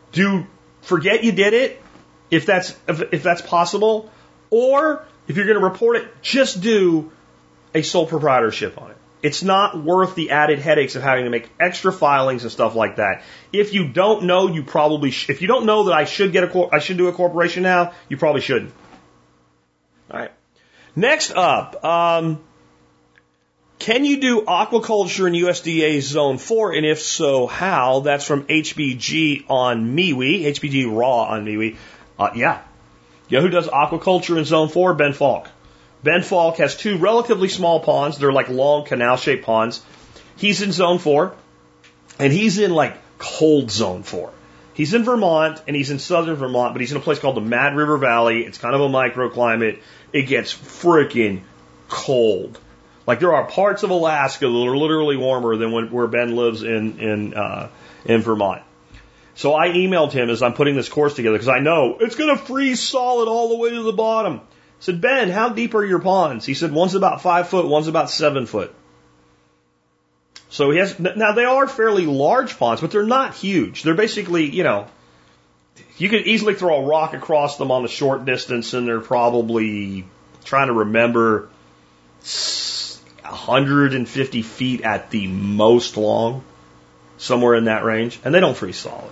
forget you did it, if that's possible, or if you're going to report it, just do a sole proprietorship on it. It's not worth the added headaches of having to make extra filings and stuff like that. If you don't know, you probably if you don't know that I should do a corporation now, you probably shouldn't. All right. Next up, Can you do aquaculture in USDA Zone 4? And if so, how? That's from HBG on MeWe, HBG Raw on MeWe. Yeah. You know who does aquaculture in Zone 4? Ben Falk. Ben Falk has 2 relatively small ponds. They're like long canal-shaped ponds. He's in Zone 4, and he's in like cold Zone 4. He's in Vermont, and he's in southern Vermont, but he's in a place called the Mad River Valley. It's kind of a microclimate. It gets freaking cold. Like there are parts of Alaska that are literally warmer than where Ben lives in Vermont. So I emailed him as I'm putting this course together because I know it's going to freeze solid all the way to the bottom. I said, Ben, how deep are your ponds? He said, one's about 5 foot, one's about 7 foot. So he has, now they are fairly large ponds, but they're not huge. They're basically, you know, you could easily throw a rock across them on the short distance and they're probably, trying to remember, 150 feet at the most long, somewhere in that range, and they don't freeze solid.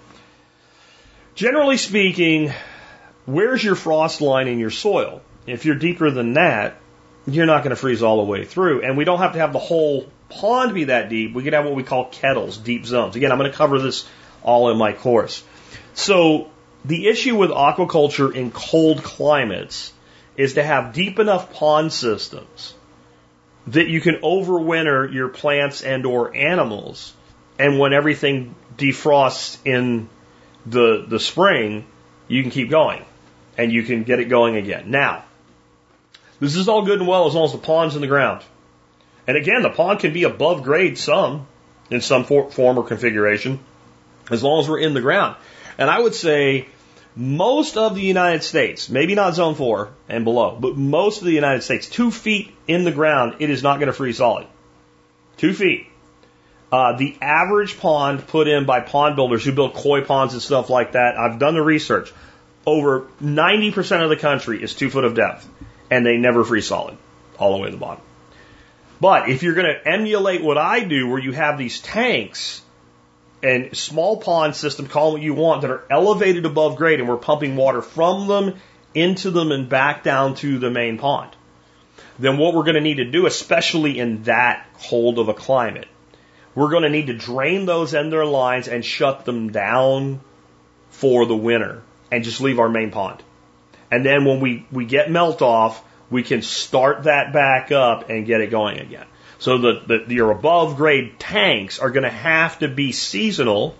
Generally speaking, where's your frost line in your soil? If you're deeper than that, you're not going to freeze all the way through. And we don't have to have the whole pond be that deep. We can have what we call kettles, deep zones. Again, I'm going to cover this all in my course. So the issue with aquaculture in cold climates is to have deep enough pond systems that you can overwinter your plants and or animals. And when everything defrosts in the spring, you can keep going and you can get it going again. Now, this is all good and well as long as the pond's in the ground. And again, the pond can be above grade in some form or configuration, as long as we're in the ground. And I would say most of the United States, maybe not Zone 4 and below, but most of the United States, 2 feet in the ground, it is not going to freeze solid. 2 feet. The average pond put in by pond builders who build koi ponds and stuff like that, I've done the research, over 90% of the country is 2 foot of depth, and they never freeze solid all the way to the bottom. But if you're going to emulate what I do, where you have these tanks and small pond system, call them what you want, that are elevated above grade, and we're pumping water from them into them and back down to the main pond, then what we're going to need to do, especially in that cold of a climate, we're going to need to drain those end their lines and shut them down for the winter and just leave our main pond. And then when we get melt off, we can start that back up and get it going again. So your above grade tanks are going to have to be seasonal,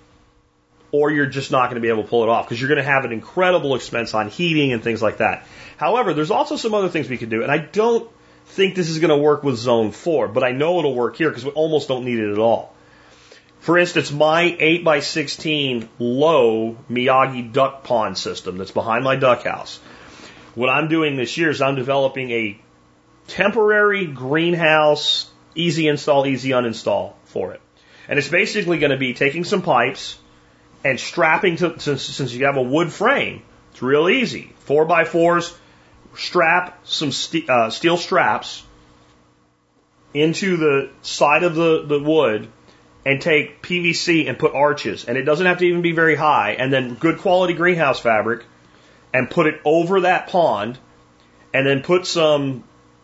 or you're just not going to be able to pull it off because you're going to have an incredible expense on heating and things like that. However, there's also some other things we can do, and I don't think this is going to work with Zone 4, but I know it'll work here because we almost don't need it at all. For instance, my 8x16 low Miyagi duck pond system that's behind my duck house. What I'm doing this year is I'm developing a temporary greenhouse, easy install, easy uninstall for it. And it's basically going to be taking some pipes and strapping to, since you have a wood frame, it's real easy. 4x4s, strap some steel straps into the side of the wood and take PVC and put arches. And it doesn't have to even be very high. And then good quality greenhouse fabric and put it over that pond and then put some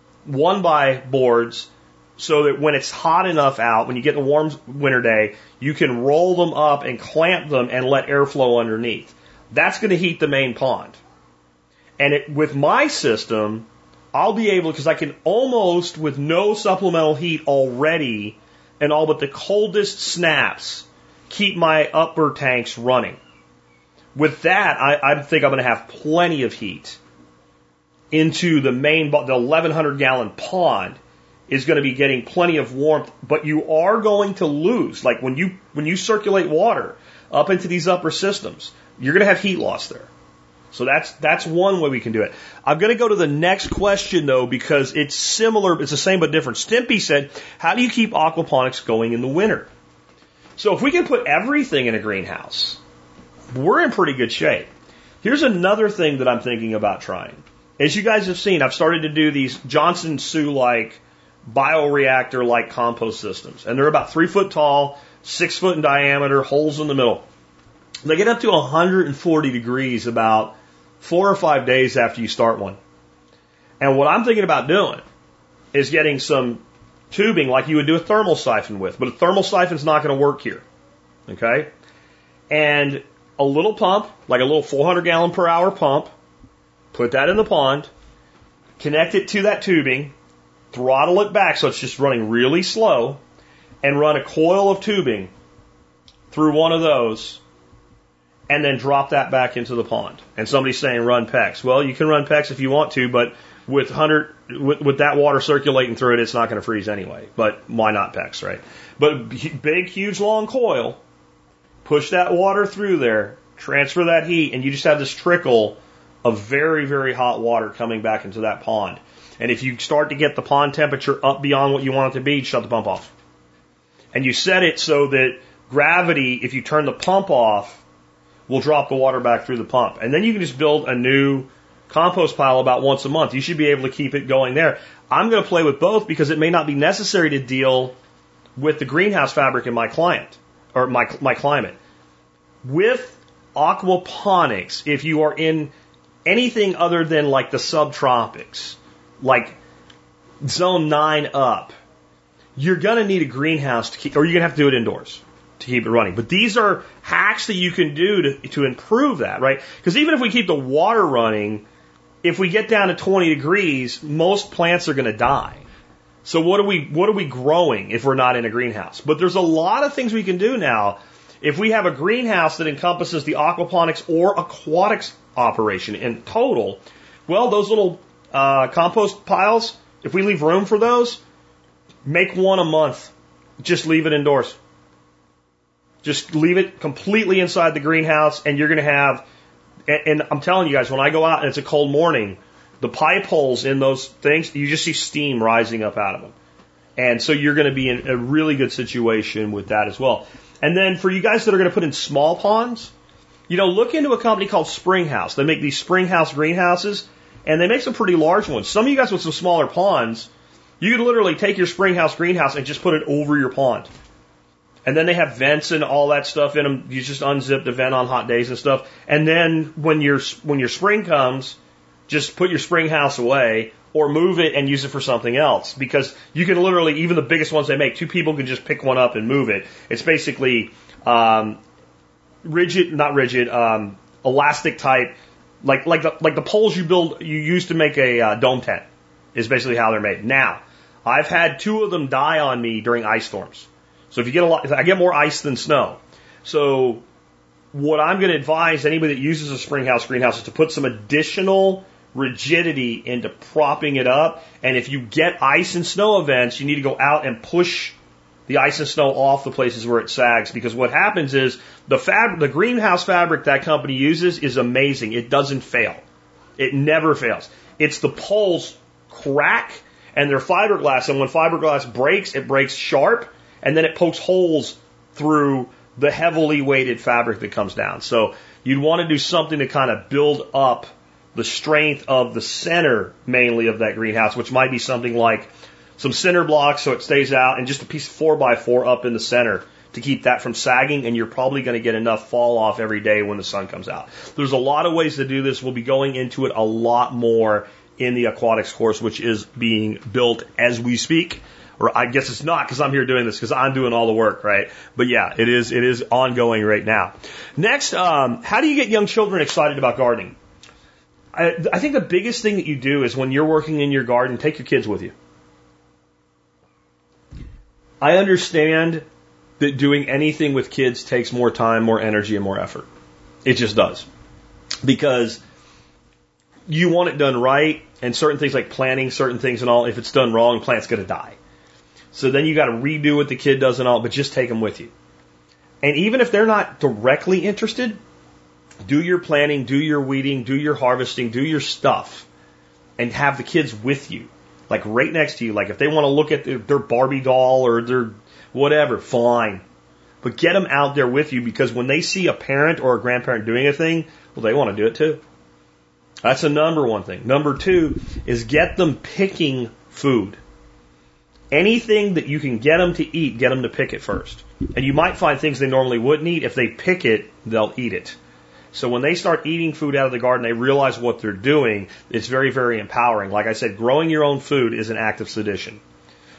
1x boards so that when it's hot enough out, when you get a warm winter day, you can roll them up and clamp them and let airflow underneath. That's going to heat the main pond. And with my system, I'll be able, because I can almost, with no supplemental heat already, and all but the coldest snaps, keep my upper tanks running. With that, I think I'm going to have plenty of heat into the main, the 1,100 gallon pond is going to be getting plenty of warmth, but you are going to lose. Like when you circulate water up into these upper systems, you're going to have heat loss there. So that's one way we can do it. I'm going to go to the next question though, because it's similar, it's the same but different. Stimpy said, how do you keep aquaponics going in the winter? So if we can put everything in a greenhouse, we're in pretty good shape. Here's another thing that I'm thinking about trying. As you guys have seen, I've started to do these Johnson Sioux-like bioreactor-like compost systems. And they're about 3 foot tall, 6 foot in diameter, holes in the middle. They get up to 140 degrees about 4 or 5 days after you start one. And what I'm thinking about doing is getting some tubing like you would do a thermal siphon with, but a thermal siphon's not going to work here. Okay? And a little pump, like a little 400 gallon per hour pump, put that in the pond, connect it to that tubing, throttle it back so it's just running really slow, and run a coil of tubing through one of those, and then drop that back into the pond. And somebody's saying run PEX. Well, you can run PEX if you want to, but with that water circulating through it, it's not going to freeze anyway. But why not PEX, right? But big, huge, long coil, push that water through there, transfer that heat, and you just have this trickle of very, very hot water coming back into that pond. And if you start to get the pond temperature up beyond what you want it to be, shut the pump off. And you set it so that gravity, if you turn the pump off, will drop the water back through the pump. And then you can just build a new compost pile about once a month. You should be able to keep it going there. I'm going to play with both because it may not be necessary to deal with the greenhouse fabric in my climate. With aquaponics, if you are in anything other than like the subtropics, like zone 9 up, you're going to need a greenhouse to keep, or you're going to have to do it indoors to keep it running. But these are hacks that you can do to improve that, right? Because even if we keep the water running, if we get down to 20 degrees, most plants are going to die. So what are we growing if we're not in a greenhouse? But there's a lot of things we can do now. If we have a greenhouse that encompasses the aquaponics or aquatics operation in total, well, those little compost piles, if we leave room for those, make one a month. Just leave it indoors. Just leave it completely inside the greenhouse, and you're going to have, and I'm telling you guys, when I go out and it's a cold morning, the pipe holes in those things, you just see steam rising up out of them. And so you're going to be in a really good situation with that as well. And then for you guys that are going to put in small ponds, look into a company called Springhouse. They make these Springhouse greenhouses, and they make some pretty large ones. Some of you guys with some smaller ponds, you could literally take your Springhouse greenhouse and just put it over your pond. And then they have vents and all that stuff in them. You just unzip the vent on hot days and stuff. And then when your spring comes, just put your Springhouse away or move it and use it for something else. Because you can literally, even the biggest ones they make, 2 people can just pick one up and move it. It's basically elastic type, like the poles you use to make a dome tent is basically how they're made. Now, I've had 2 of them die on me during ice storms. So if I get more ice than snow. So what I'm going to advise anybody that uses a Springhouse greenhouse is to put some additional rigidity into propping it up. And if you get ice and snow events, you need to go out and push the ice and snow off the places where it sags. Because what happens is the greenhouse fabric that company uses is amazing. It doesn't fail. It never fails. It's the poles crack and they're fiberglass. And when fiberglass breaks, it breaks sharp. And then it pokes holes through the heavily weighted fabric that comes down. So you'd want to do something to kind of build up the strength of the center mainly of that greenhouse, which might be something like some cinder blocks so it stays out and just a piece of 4x4 up in the center to keep that from sagging, and you're probably going to get enough fall off every day when the sun comes out. There's a lot of ways to do this. We'll be going into it a lot more in the aquatics course, which is being built as we speak. Or I guess it's not because I'm here doing this because I'm doing all the work, right? But yeah, it is ongoing right now. Next, how do you get young children excited about gardening? I think the biggest thing that you do is when you're working in your garden, take your kids with you. I understand that doing anything with kids takes more time, more energy, and more effort. It just does. Because you want it done right, and certain things like planting certain things and all, if it's done wrong, the plant's going to die. So then you got to redo what the kid does and all, but just take them with you. And even if they're not directly interested, do your planting, do your weeding, do your harvesting, do your stuff, and have the kids with you, like right next to you. Like if they want to look at their Barbie doll or their whatever, fine. But get them out there with you because when they see a parent or a grandparent doing a thing, well, they want to do it too. That's the number one thing. Number 2 is get them picking food. Anything that you can get them to eat, get them to pick it first. And you might find things they normally wouldn't eat. If they pick it, they'll eat it. So when they start eating food out of the garden, they realize what they're doing. It's very, very empowering. Like I said, growing your own food is an act of sedition.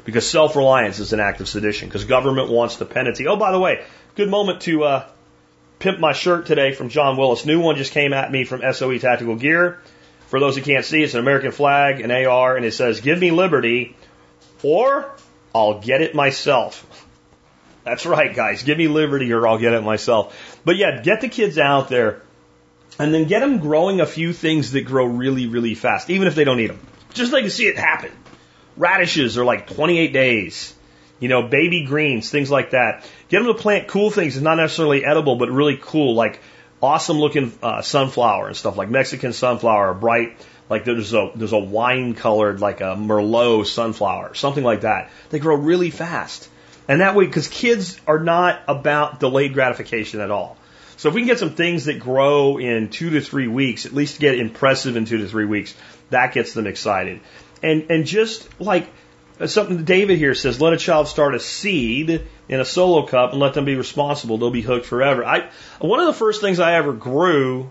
because self-reliance is an act of sedition, because government wants the penalty. Oh, by the way, good moment to pimp my shirt today from John Willis. New one just came at me from SOE Tactical Gear. For those who can't see, it's an American flag, an AR, and it says, "Give me liberty, or I'll get it myself." That's right, guys. Give me liberty, or I'll get it myself. But yeah, get the kids out there, and then get them growing a few things that grow really, really fast, even if they don't eat them. Just so you can see it happen. Radishes are like 28 days. You know, baby greens, things like that. Get them to plant cool things. It's not necessarily edible, but really cool, like awesome looking sunflower and stuff, like Mexican sunflower, bright, like there's a wine colored, like a Merlot sunflower, something like that. They grow really fast. And that way, because kids are not about delayed gratification at all. So if we can get some things that grow in 2 to 3 weeks, at least get impressive in 2 to 3 weeks, that gets them excited. And just like something David here says, let a child start a seed in a solo cup and let them be responsible. They'll be hooked forever. One of the first things I ever grew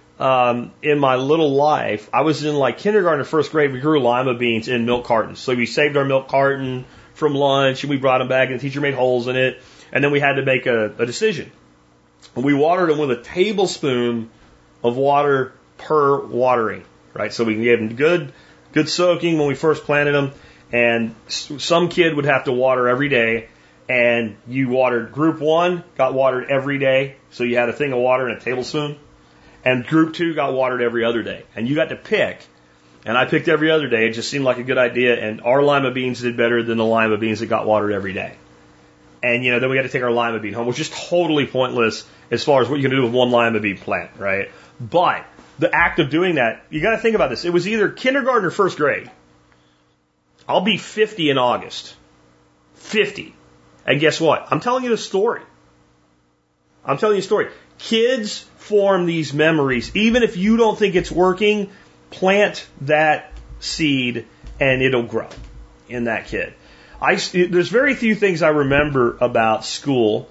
in my little life, I was in like kindergarten or first grade. We grew lima beans in milk cartons. So we saved our milk carton from lunch and we brought them back and the teacher made holes in it. And then we had to make a decision. We watered them with a tablespoon of water per watering, right? So we gave them good soaking when we first planted them. And some kid would have to water every day. And you watered, group 1 got watered every day. So you had a thing of water and a tablespoon. And group 2 got watered every other day. And you got to pick. And I picked every other day. It just seemed like a good idea. And our lima beans did better than the lima beans that got watered every day. And, you know, then we got to take our lima bean home, which is totally pointless as far as what you can do with one lima bean plant, right? But the act of doing that, you got to think about this. It was either kindergarten or first grade. I'll be 50 in August. 50. And guess what? I'm telling you the story. I'm telling you a story. Kids form these memories. Even if you don't think it's working, plant that seed and it'll grow in that kid. There's very few things I remember about school.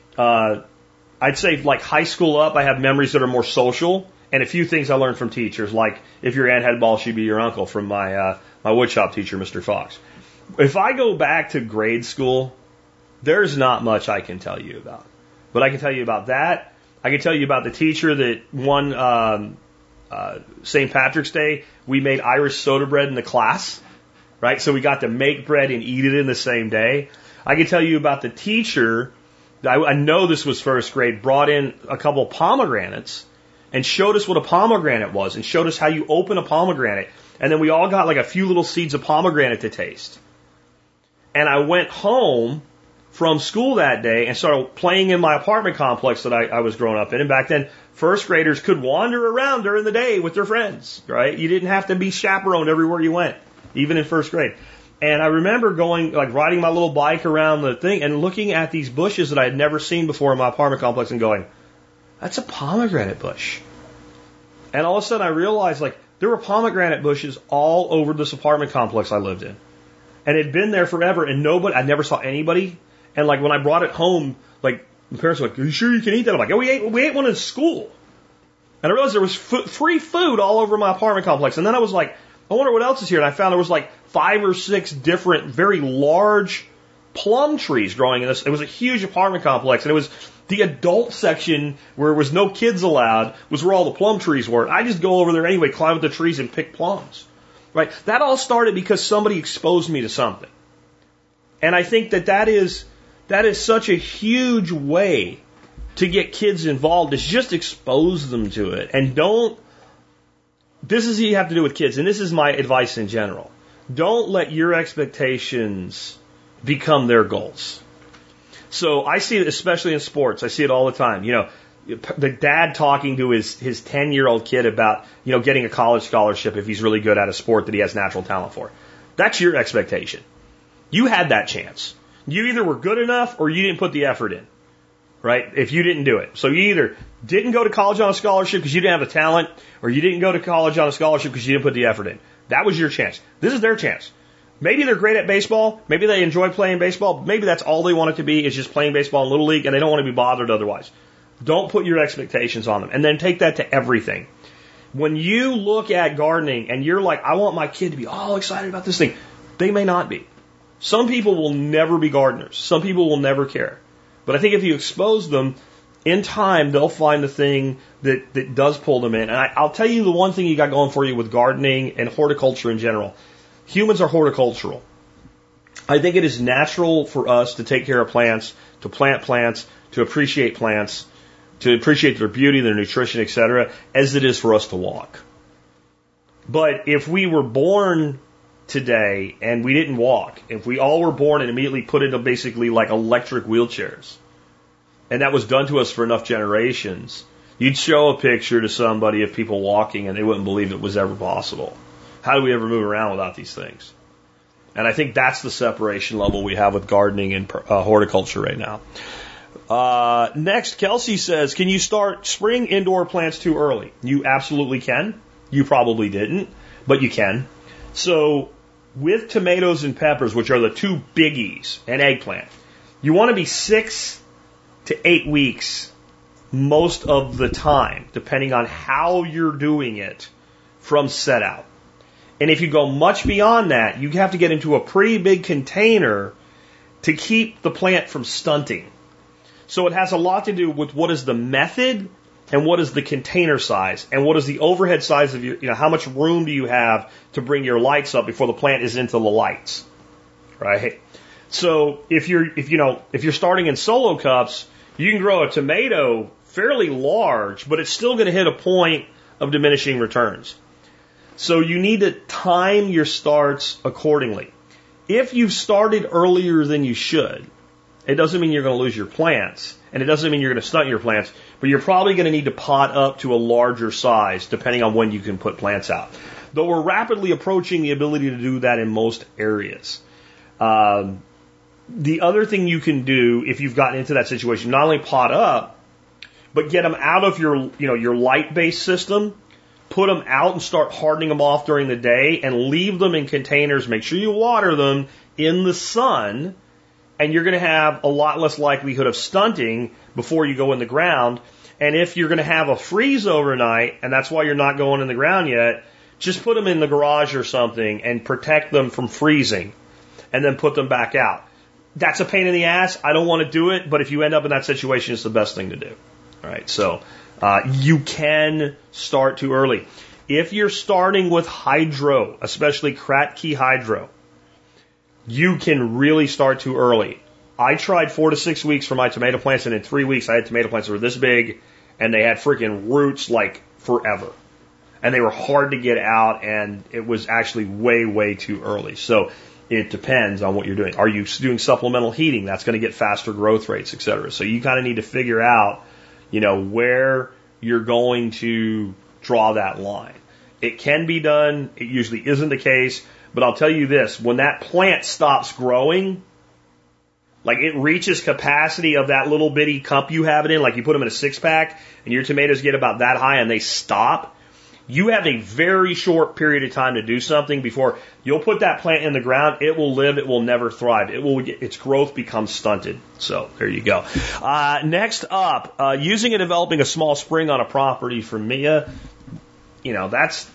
I'd say like high school up, I have memories that are more social, and a few things I learned from teachers, like if your aunt had balls, she'd be your uncle, from my woodshop teacher, Mr. Fox. If I go back to grade school, there's not much I can tell you about. But I can tell you about that. I can tell you about the teacher that one St. Patrick's Day, we made Irish soda bread in the class. Right? So we got to make bread and eat it in the same day. I can tell you about the teacher, I know this was first grade, brought in a couple of pomegranates and showed us what a pomegranate was and showed us how you open a pomegranate. And then we all got like a few little seeds of pomegranate to taste. And I went home from school that day and started playing in my apartment complex that I was growing up in. And back then, first graders could wander around during the day with their friends, right? You didn't have to be chaperoned everywhere you went, even in first grade. And I remember going, like riding my little bike around the thing and looking at these bushes that I had never seen before in my apartment complex and going, that's a pomegranate bush. And all of a sudden I realized like there were pomegranate bushes all over this apartment complex I lived in. And it had been there forever and I never saw anybody. And like when I brought it home, like my parents were like, are you sure you can eat that? I'm like, oh, we ate one in school. And I realized there was free food all over my apartment complex. And then I was like, I wonder what else is here. And I found there was like 5 or 6 different, very large plum trees growing in this. It was a huge apartment complex. And it was the adult section where there was no kids allowed was where all the plum trees were. I just go over there anyway, climb up the trees and pick plums. Right? That all started because somebody exposed me to something. And I think that is such a huge way to get kids involved, is just expose them to it. And this is what you have to do with kids, and this is my advice in general. Don't let your expectations become their goals. So I see it especially in sports. I see it all the time. You know, the dad talking to his 10-year-old kid about, you know, getting a college scholarship if he's really good at a sport that he has natural talent for. That's your expectation. You had that chance. You either were good enough or you didn't put the effort in, right? If you didn't do it. So you either didn't go to college on a scholarship because you didn't have the talent, or you didn't go to college on a scholarship because you didn't put the effort in. That was your chance. This is their chance. Maybe they're great at baseball. Maybe they enjoy playing baseball. Maybe that's all they want it to be, is just playing baseball in Little League, and they don't want to be bothered otherwise. Don't put your expectations on them. And then take that to everything. When you look at gardening and you're like, I want my kid to be all excited about this thing, they may not be. Some people will never be gardeners. Some people will never care. But I think if you expose them, in time, they'll find the thing that does pull them in. And I'll tell you the one thing you got going for you with gardening and horticulture in general. Humans are horticultural. I think it is natural for us to take care of plants, to plant plants, to appreciate plants, to appreciate their beauty, their nutrition, etc., as it is for us to walk. But if we were born today and we didn't walk, if we all were born and immediately put into basically like electric wheelchairs, and that was done to us for enough generations, you'd show a picture to somebody of people walking and they wouldn't believe it was ever possible. How do we ever move around without these things? And I think that's the separation level we have with gardening and horticulture right now. Next, Kelsey says, can you start spring indoor plants too early? You absolutely can. You probably didn't, but you can. So with tomatoes and peppers, which are the two biggies, and eggplant, you want to be 6 to 8 weeks most of the time, depending on how you're doing it, from set out. And if you go much beyond that, you have to get into a pretty big container to keep the plant from stunting. So it has a lot to do with what is the method and what is the container size and what is the overhead size of your, how much room do you have to bring your lights up before the plant is into the lights, right? So if you're starting in solo cups, you can grow a tomato fairly large, but it's still going to hit a point of diminishing returns. So you need to time your starts accordingly. If you've started earlier than you should, it doesn't mean you're going to lose your plants, and it doesn't mean you're going to stunt your plants, but you're probably going to need to pot up to a larger size depending on when you can put plants out. Though we're rapidly approaching the ability to do that in most areas. The other thing you can do if you've gotten into that situation, not only pot up, but get them out of your light-based system, put them out and start hardening them off during the day and leave them in containers. Make sure you water them in the sun, and you're going to have a lot less likelihood of stunting before you go in the ground. And if you're going to have a freeze overnight, and that's why you're not going in the ground yet, just put them in the garage or something and protect them from freezing, and then put them back out. That's a pain in the ass. I don't want to do it, but if you end up in that situation, it's the best thing to do. All right, so you can start too early. If you're starting with hydro, especially Kratky hydro, you can really start too early. I tried 4 to 6 weeks for my tomato plants, and in 3 weeks I had tomato plants that were this big, and they had freaking roots like forever. And they were hard to get out, and it was actually way, way too early. So it depends on what you're doing. Are you doing supplemental heating? That's going to get faster growth rates, et cetera. So you kind of need to figure out, where you're going to draw that line. It can be done. It usually isn't the case. But I'll tell you this, when that plant stops growing, like it reaches capacity of that little bitty cup you have it in, like you put them in a 6-pack and your tomatoes get about that high and they stop, you have a very short period of time to do something before you'll put that plant in the ground. It will live. It will never thrive. Its growth becomes stunted. So there you go. Next up, using and developing a small spring on a property for Mia. That's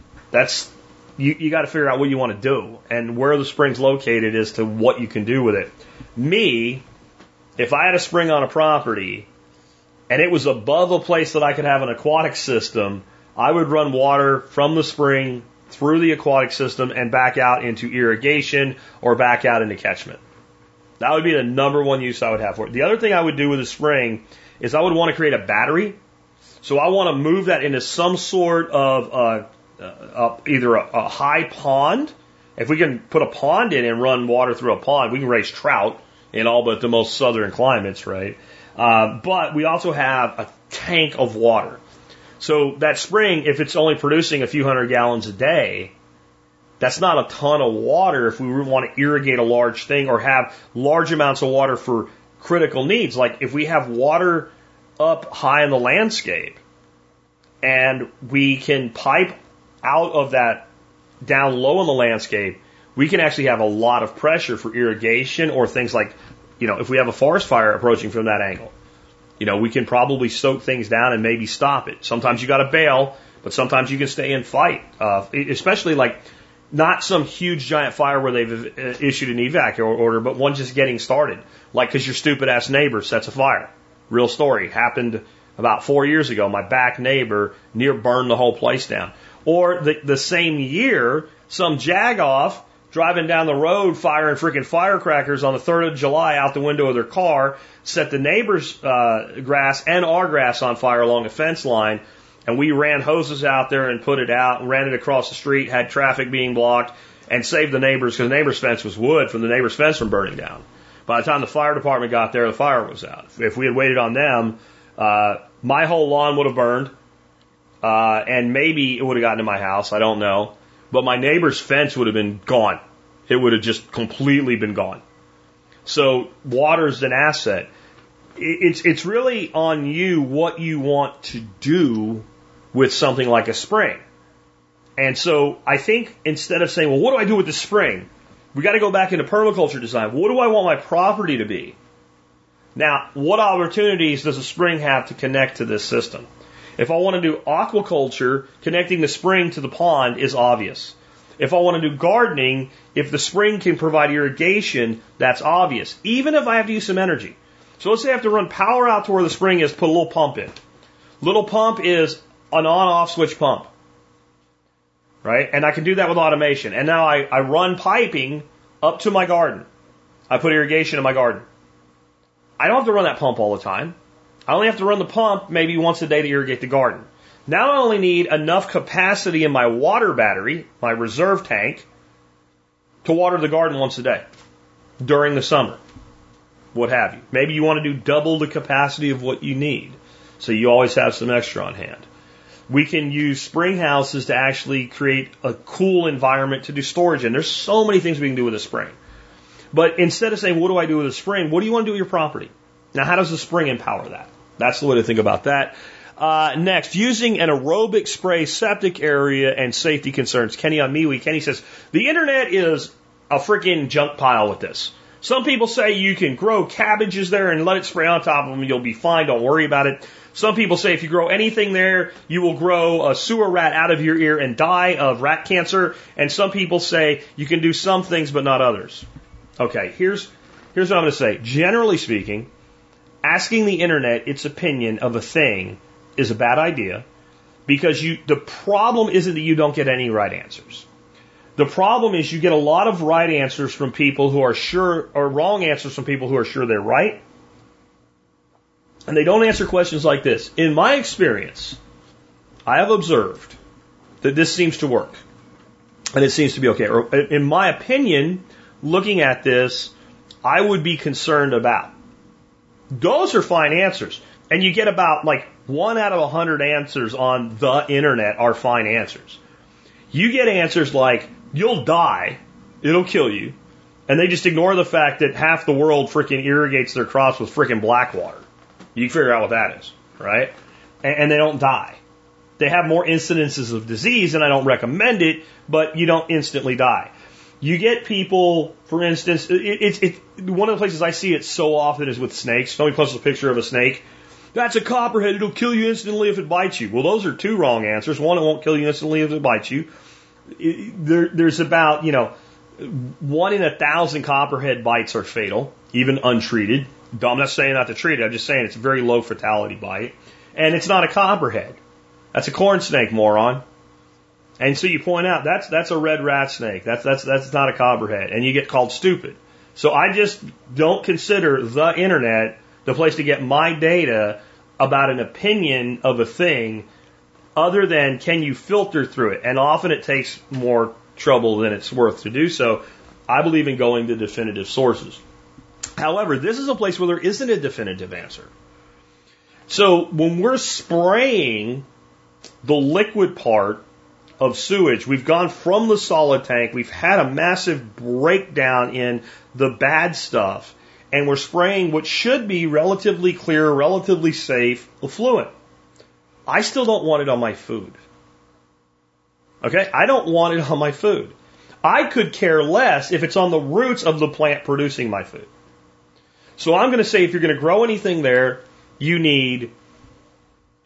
you got to figure out what you want to do and where the spring's located as to what you can do with it. Me, if I had a spring on a property and it was above a place that I could have an aquatic system, I would run water from the spring through the aquatic system and back out into irrigation or back out into catchment. That would be the number one use I would have for it. The other thing I would do with a spring is I would want to create a battery. So I want to move that into some sort of either a high pond. If we can put a pond in and run water through a pond, we can raise trout in all but the most southern climates, right? But we also have a tank of water. So that spring, if it's only producing a few hundred gallons a day, that's not a ton of water if we want to irrigate a large thing or have large amounts of water for critical needs. Like if we have water up high in the landscape and we can pipe out of that down low in the landscape, we can actually have a lot of pressure for irrigation or things like, if we have a forest fire approaching from that angle. We can probably soak things down and maybe stop it. Sometimes you got to bail, but sometimes you can stay and fight. Especially like Not some huge giant fire where they've issued an evac order, but one just getting started. Like because your stupid ass neighbor sets a fire. Real story. Happened about 4 years ago. My back neighbor near burned the whole place down. Or the same year, some jagoff driving down the road firing freaking firecrackers on the 3rd of July out the window of their car, set the neighbor's grass and our grass on fire along a fence line. And we ran hoses out there and put it out, and ran it across the street, had traffic being blocked, and saved the neighbors because the neighbor's fence was wood from the neighbor's fence from burning down. By the time the fire department got there, the fire was out. If we had waited on them, my whole lawn would have burned, and maybe it would have gotten to my house. I don't know. But my neighbor's fence would have been gone. It would have just completely been gone. So water's an asset. It's really on you what you want to do with something like a spring. And so I think instead of saying, well, what do I do with the spring? We got to go back into permaculture design. What do I want my property to be? Now, what opportunities does a spring have to connect to this system? If I want to do aquaculture, connecting the spring to the pond is obvious. If I want to do gardening, if the spring can provide irrigation, that's obvious. Even if I have to use some energy. So let's say I have to run power out to where the spring is, put a little pump in. Little pump is an on-off switch pump. Right? And I can do that with automation. And now I run piping up to my garden. I put irrigation in my garden. I don't have to run that pump all the time. I only have to run the pump maybe once a day to irrigate the garden. Now I only need enough capacity in my water battery, my reserve tank, to water the garden once a day during the summer. What have you. Maybe you want to do double the capacity of what you need. So you always have some extra on hand. We can use spring houses to actually create a cool environment to do storage in. There's so many things we can do with a spring. But instead of saying, what do I do with a spring? What do you want to do with your property? Now, how does the spring empower that? That's the way to think about that. Next, using an aerobic spray septic area and safety concerns. Kenny on MeWe. Kenny says, the internet is a freaking junk pile with this. Some people say you can grow cabbages there and let it spray on top of them and you'll be fine, don't worry about it. Some people say if you grow anything there, you will grow a sewer rat out of your ear and die of rat cancer. And some people say you can do some things but not others. Okay, here's what I'm going to say. Generally speaking, asking the internet its opinion of a thing is a bad idea because the problem isn't that you don't get any right answers. The problem is you get a lot of right answers from people who are sure, or wrong answers from people who are sure they're right. And they don't answer questions like this. In my experience, I have observed that this seems to work. And it seems to be okay. Or in my opinion, looking at this, I would be concerned about. Those are fine answers. And you get about like 1 out of 100 answers on the internet are fine answers. You get answers like, you'll die, it'll kill you, and they just ignore the fact that half the world freaking irrigates their crops with freaking black water. You can figure out what that is, right? And they don't die. They have more incidences of disease, and I don't recommend it, but you don't instantly die. You get people, for instance, it's one of the places I see it so often is with snakes. Somebody posts a picture of a snake. That's a copperhead, it'll kill you instantly if it bites you. Well, those are two wrong answers. One, it won't kill you instantly if it bites you. There's about, 1 in 1,000 copperhead bites are fatal, even untreated. I'm not saying not to treat it, I'm just saying it's a very low fatality bite. And it's not a copperhead. That's a corn snake, moron. And so you point out, that's a red rat snake. That's not a copperhead. And you get called stupid. So I just don't consider the internet the place to get my data about an opinion of a thing other than can you filter through it. And often it takes more trouble than it's worth to do so. I believe in going to definitive sources. However, this is a place where there isn't a definitive answer. So when we're spraying the liquid part of sewage, we've gone from the solid tank, we've had a massive breakdown in the bad stuff, and we're spraying what should be relatively clear, relatively safe effluent. I still don't want it on my food. Okay? I don't want it on my food. I could care less if it's on the roots of the plant producing my food. So I'm going to say if you're going to grow anything there, you need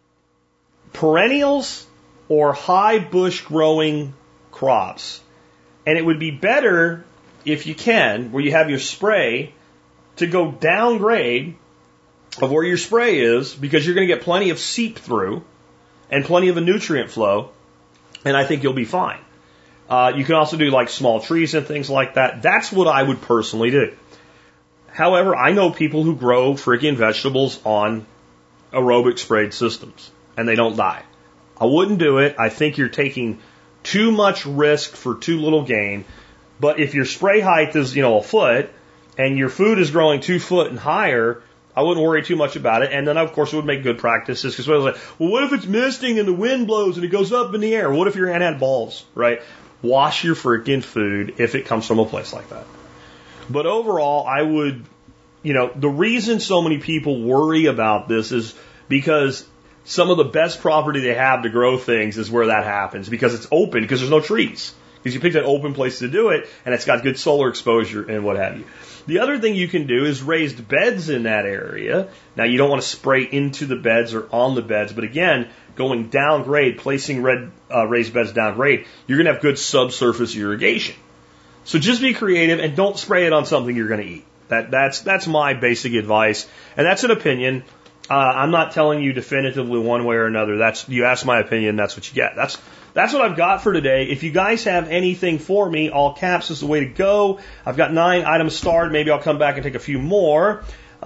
perennials or high bush growing crops And it would be better, if you can, where you have your spray, to go downgrade of where your spray is, because you're going to get plenty of seep through and plenty of a nutrient flow, and I think you'll be fine. You can also do like small trees and things like that. That's what I would personally do. However, I know people who grow freaking vegetables on aerobic sprayed systems, and they don't die. I wouldn't do it. I think you're taking too much risk for too little gain. But if your spray height is, a foot, and your food is growing 2 foot and higher, I wouldn't worry too much about it. And then, of course, it would make good practices. Because I was like, well, what if it's misting and the wind blows and it goes up in the air? What if your hand had balls, right? Wash your freaking food if it comes from a place like that. But overall, I would, the reason so many people worry about this is because some of the best property they have to grow things is where that happens, because it's open, because there's no trees. Because you picked an open place to do it, and it's got good solar exposure and what have you. The other thing you can do is raised beds in that area. Now, you don't want to spray into the beds or on the beds, but again, going downgrade, placing raised beds downgrade, you're going to have good subsurface irrigation. So just be creative and don't spray it on something you're going to eat. That's my basic advice, and that's an opinion. I'm not telling you definitively one way or another. You ask my opinion, that's what you get. That's what I've got for today. If you guys have anything for me, all caps is the way to go. I've got 9 items starred. Maybe I'll come back and take a few more.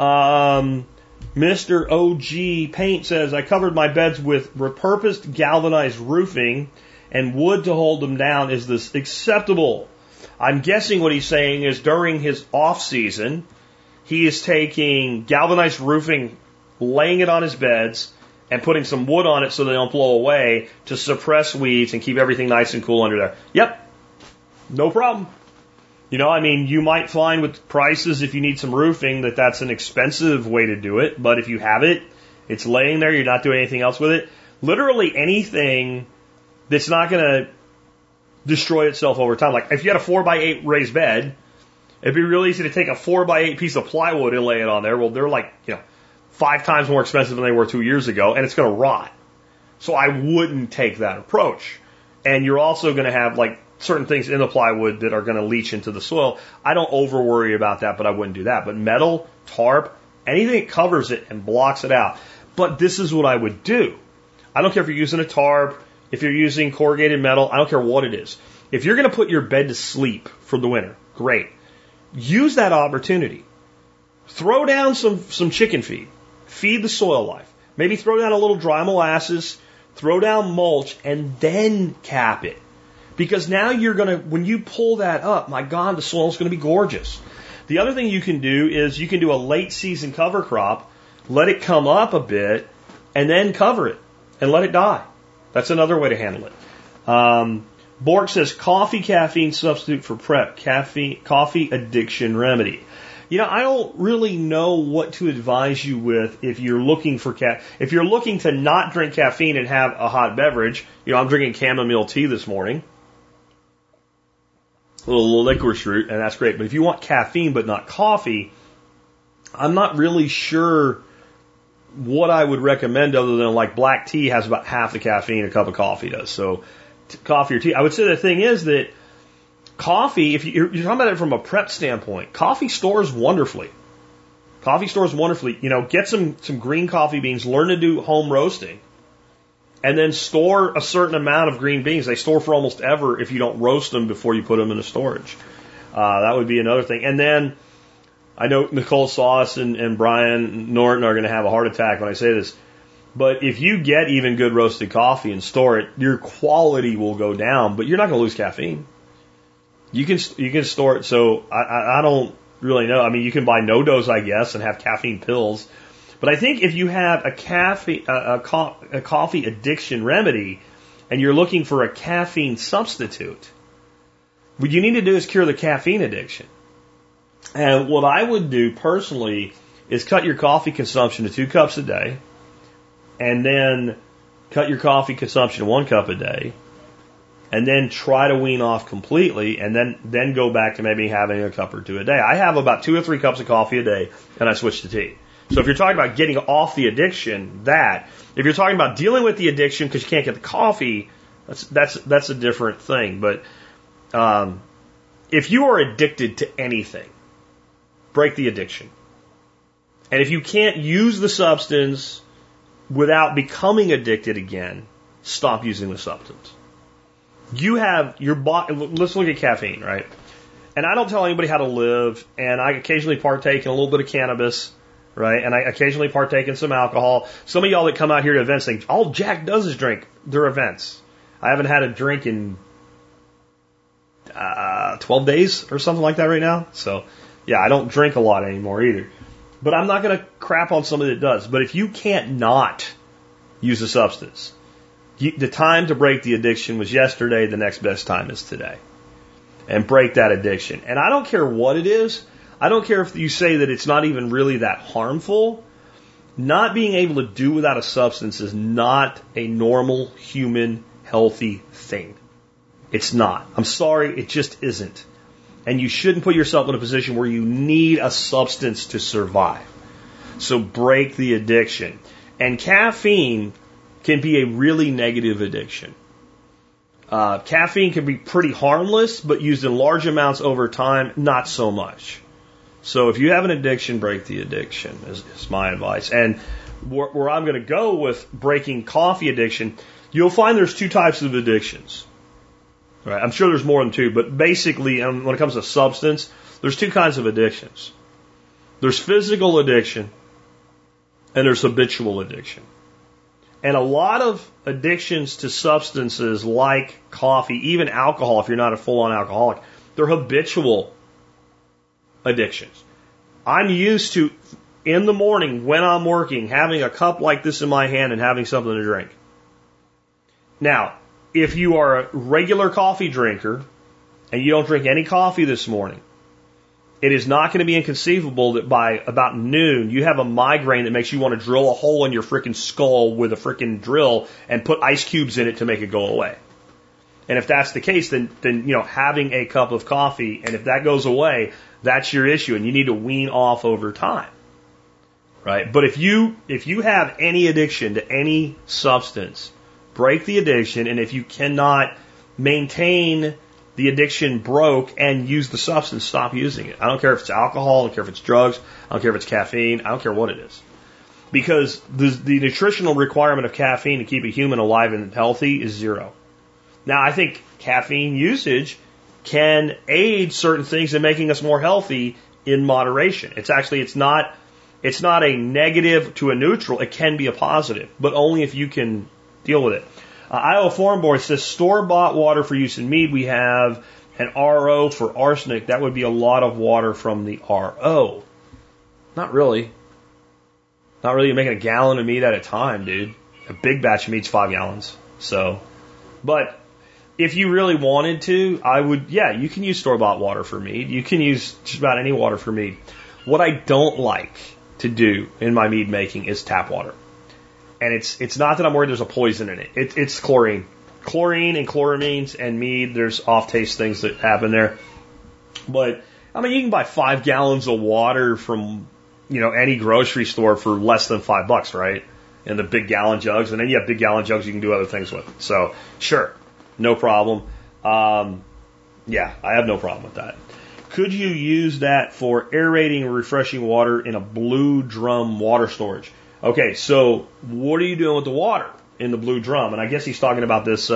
Mr. OG Paint says, I covered my beds with repurposed galvanized roofing and wood to hold them down. Is this acceptable? I'm guessing what he's saying is during his off season, he is taking galvanized roofing, laying it on his beds, and putting some wood on it so they don't blow away to suppress weeds and keep everything nice and cool under there. Yep, no problem. You might find with prices, if you need some roofing, that's an expensive way to do it. But if you have it, it's laying there, you're not doing anything else with it. Literally anything that's not going to destroy itself over time. Like if you had a 4x8 raised bed, it'd be really easy to take a 4x8 piece of plywood and lay it on there. Well, they're 5 times more expensive than they were 2 years ago, and it's going to rot. So I wouldn't take that approach. And you're also going to have certain things in the plywood that are going to leach into the soil. I don't over worry about that, but I wouldn't do that. But metal, tarp, anything that covers it and blocks it out. But this is what I would do. I don't care if you're using a tarp, if you're using corrugated metal, I don't care what it is. If you're going to put your bed to sleep for the winter, great. Use that opportunity. Throw down some chicken feed. Feed the soil life. Maybe throw down a little dry molasses, throw down mulch, and then cap it. Because now when you pull that up, my God, the soil's going to be gorgeous. The other thing you can do is you can do a late season cover crop, let it come up a bit, and then cover it and let it die. That's another way to handle it. Bork says, coffee caffeine substitute for prep, coffee addiction remedy. I don't really know what to advise you with if you're looking for if you're looking to not drink caffeine and have a hot beverage. I'm drinking chamomile tea this morning, a little licorice root, and that's great. But if you want caffeine but not coffee, I'm not really sure what I would recommend other than black tea has about half the caffeine a cup of coffee does. So coffee or tea. I would say the thing is that coffee, if you're talking about it from a prep standpoint, coffee stores wonderfully. Get some green coffee beans, learn to do home roasting, and then store a certain amount of green beans. They store for almost ever if you don't roast them before you put them in the storage. That would be another thing. And then I know Nicole Sauce and Brian Norton are going to have a heart attack when I say this, but if you get even good roasted coffee and store it, your quality will go down, but you're not going to lose caffeine. You can store it. So I don't really know. You can buy NoDoz, I guess, and have caffeine pills. But I think if you have a coffee addiction remedy and you're looking for a caffeine substitute, what you need to do is cure the caffeine addiction. And what I would do personally is cut your coffee consumption to 2 cups a day, and then cut your coffee consumption to 1 cup a day, and then try to wean off completely, and then go back to maybe having a cup or 2 a day. I have about 2 or 3 cups of coffee a day, and I switch to tea. So if you're talking about getting off the addiction, if you're talking about dealing with the addiction because you can't get the coffee, that's a different thing. But if you are addicted to anything, break the addiction. And if you can't use the substance without becoming addicted again, stop using the substance. You have your body. Let's look at caffeine, right? And I don't tell anybody how to live, and I occasionally partake in a little bit of cannabis, right? And I occasionally partake in some alcohol. Some of y'all that come out here to events think, all Jack does is drink. They're events. I haven't had a drink in 12 days or something like that right now. So, yeah, I don't drink a lot anymore either. But I'm not going to crap on somebody that does. But if you can't not use a substance, the time to break the addiction was yesterday. The next best time is today. And break that addiction. And I don't care what it is. I don't care if you say that it's not even really that harmful. Not being able to do without a substance is not a normal, human, healthy thing. It's not. I'm sorry, it just isn't. And you shouldn't put yourself in a position where you need a substance to survive. So break the addiction. And caffeine can be a really negative addiction. Caffeine can be pretty harmless, but used in large amounts over time, not so much. So if you have an addiction, break the addiction is my advice. And where I'm going to go with breaking coffee addiction, you'll find there's two types of addictions. Right? I'm sure there's more than two, but basically, when it comes to substance, there's two kinds of addictions. There's physical addiction, and there's habitual addiction. And a lot of addictions to substances like coffee, even alcohol, if you're not a full-on alcoholic, they're habitual addictions. I'm used to, in the morning when I'm working, having a cup like this in my hand and having something to drink. Now, if you are a regular coffee drinker and you don't drink any coffee this morning, it is not going to be inconceivable that by about noon you have a migraine that makes you want to drill a hole in your frickin' skull with a frickin' drill and put ice cubes in it to make it go away. And if that's the case, then having a cup of coffee, and if that goes away, that's your issue, and you need to wean off over time. Right? But if you have any addiction to any substance, break the addiction, and if you cannot maintain the addiction broke and use the substance, stop using it. I don't care if it's alcohol, I don't care if it's drugs, I don't care if it's caffeine, I don't care what it is. Because the nutritional requirement of caffeine to keep a human alive and healthy is 0. Now, I think caffeine usage can aid certain things in making us more healthy in moderation. It's not a negative to a neutral. It can be a positive, but only if you can deal with it. Iowa Farm Board says store-bought water for use in mead. We have an RO for arsenic. That would be a lot of water from the RO. Not really. Not really. You're making a gallon of mead at a time, dude. A big batch of mead's 5 gallons. So, but if you really wanted to, you can use store-bought water for mead. You can use just about any water for mead. What I don't like to do in my mead making is tap water. And it's not that I'm worried there's a poison in it. It's chlorine. Chlorine and chloramines and mead, there's off-taste things that happen there. But, I mean, you can buy 5 gallons of water from, any grocery store for less than $5, right? In the big gallon jugs. And then you have big gallon jugs you can do other things with. So, sure. No problem. I have no problem with that. Could you use that for aerating or refreshing water in a blue drum water storage? Okay, so what are you doing with the water in the blue drum? And I guess he's talking about this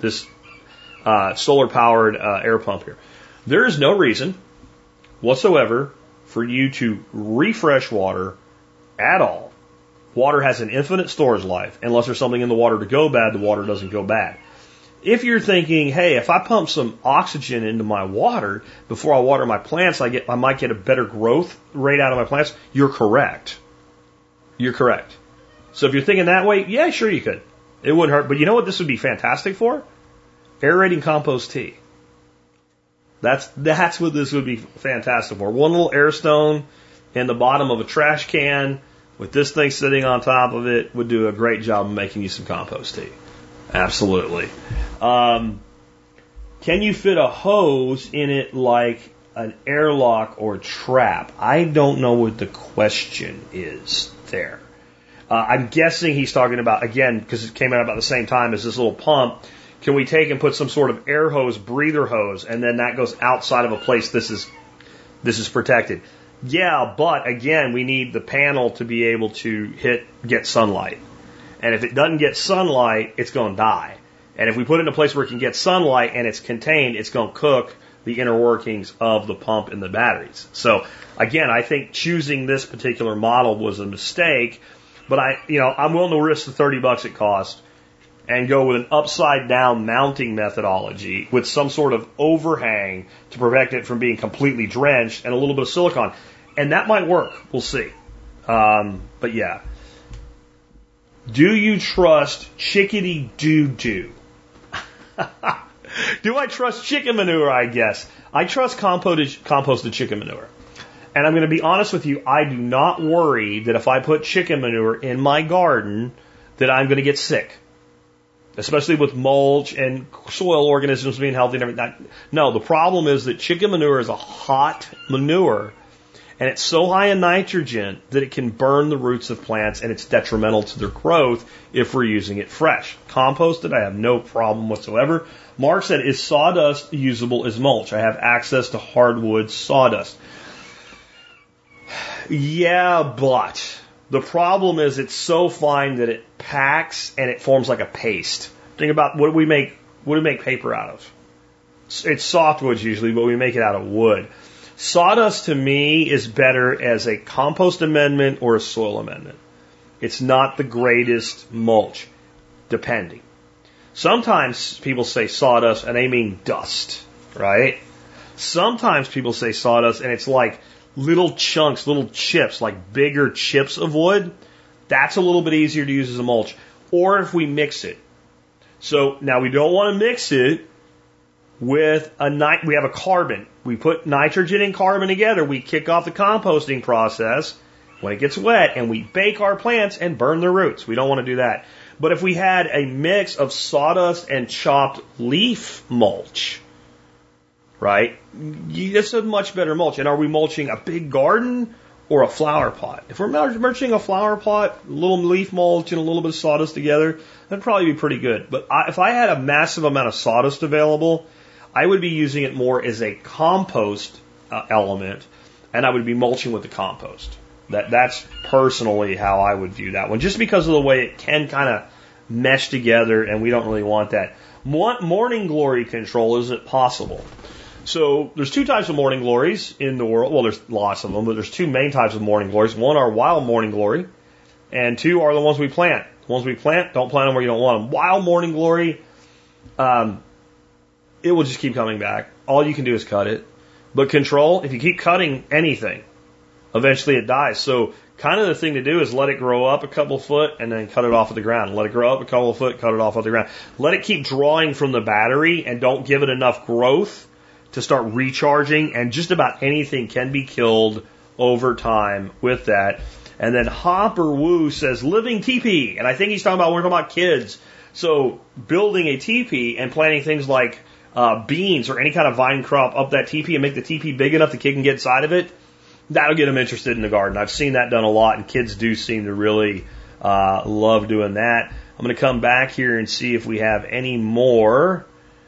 solar-powered air pump here. There is no reason whatsoever for you to refresh water at all. Water has an infinite storage life. Unless there's something in the water to go bad, the water doesn't go bad. If you're thinking, hey, if I pump some oxygen into my water before I water my plants, I might get a better growth rate out of my plants, you're correct. You're correct. So if you're thinking that way, yeah, sure you could. It wouldn't hurt. But you know what this would be fantastic for? Aerating compost tea. That's what this would be fantastic for. One little air stone in the bottom of a trash can with this thing sitting on top of it would do a great job of making you some compost tea. Absolutely. Can you fit a hose in it like an airlock or trap? I don't know what the question is there. I'm guessing he's talking about, again, because it came out about the same time as this little pump, can we take and put some sort of air hose, breather hose, and then that goes outside of a place this is protected? Yeah, but again, we need the panel to be able to get sunlight. And if it doesn't get sunlight, it's going to die. And if we put it in a place where it can get sunlight and it's contained, it's going to cook the inner workings of the pump and the batteries. So again, I think choosing this particular model was a mistake, but I'm willing to risk the $30 it cost and go with an upside down mounting methodology with some sort of overhang to prevent it from being completely drenched and a little bit of silicone. And that might work. We'll see. But yeah. Do you trust chickadee doo-doo? Do I trust chicken manure, I guess? I trust composted chicken manure. And I'm going to be honest with you, I do not worry that if I put chicken manure in my garden that I'm going to get sick. Especially with mulch and soil organisms being healthy and everything. No, the problem is that chicken manure is a hot manure, and it's so high in nitrogen that it can burn the roots of plants, and it's detrimental to their growth if we're using it fresh. Composted, I have no problem whatsoever. Mark said, is sawdust usable as mulch? I have access to hardwood sawdust. Yeah, but the problem is it's so fine that it packs and it forms like a paste. Think about what do we make paper out of? It's softwoods usually, but we make it out of wood. Sawdust to me is better as a compost amendment or a soil amendment. It's not the greatest mulch, depending. Sometimes people say sawdust and they mean dust, right? Sometimes people say sawdust and it's like little chunks, little chips, like bigger chips of wood. That's a little bit easier to use as a mulch. Or if we mix it. So now we don't want to mix it with we have a carbon. We put nitrogen and carbon together. We kick off the composting process when it gets wet and we bake our plants and burn their roots. We don't want to do that. But if we had a mix of sawdust and chopped leaf mulch, right, it's a much better mulch. And are we mulching a big garden or a flower pot? If we're mulching a flower pot, a little leaf mulch and a little bit of sawdust together, that'd probably be pretty good. But if I had a massive amount of sawdust available, I would be using it more as a compost element, and I would be mulching with the compost. That's personally how I would view that one, just because of the way it can kind of mesh together, and we don't really want that. Morning glory control, is it possible? So there's two types of morning glories in the world. Well, there's lots of them, but there's two main types of morning glories. One are wild morning glory, and two are the ones we plant. The ones we plant, don't plant them where you don't want them. Wild morning glory, it will just keep coming back. All you can do is cut it. But control, if you keep cutting anything, eventually it dies. So kind of the thing to do is let it grow up a couple foot and then cut it off of the ground. Let it grow up a couple of foot, cut it off of the ground. Let it keep drawing from the battery and don't give it enough growth to start recharging. And just about anything can be killed over time with that. And then Hopper Woo says living teepee. And I think he's talking about, we're talking about kids. So building a teepee and planting things like beans or any kind of vine crop up that teepee and make the teepee big enough the kid can get inside of it, that'll get them interested in the garden. I've seen that done a lot, and kids do seem to really love doing that. I'm going to come back here and see if we have any more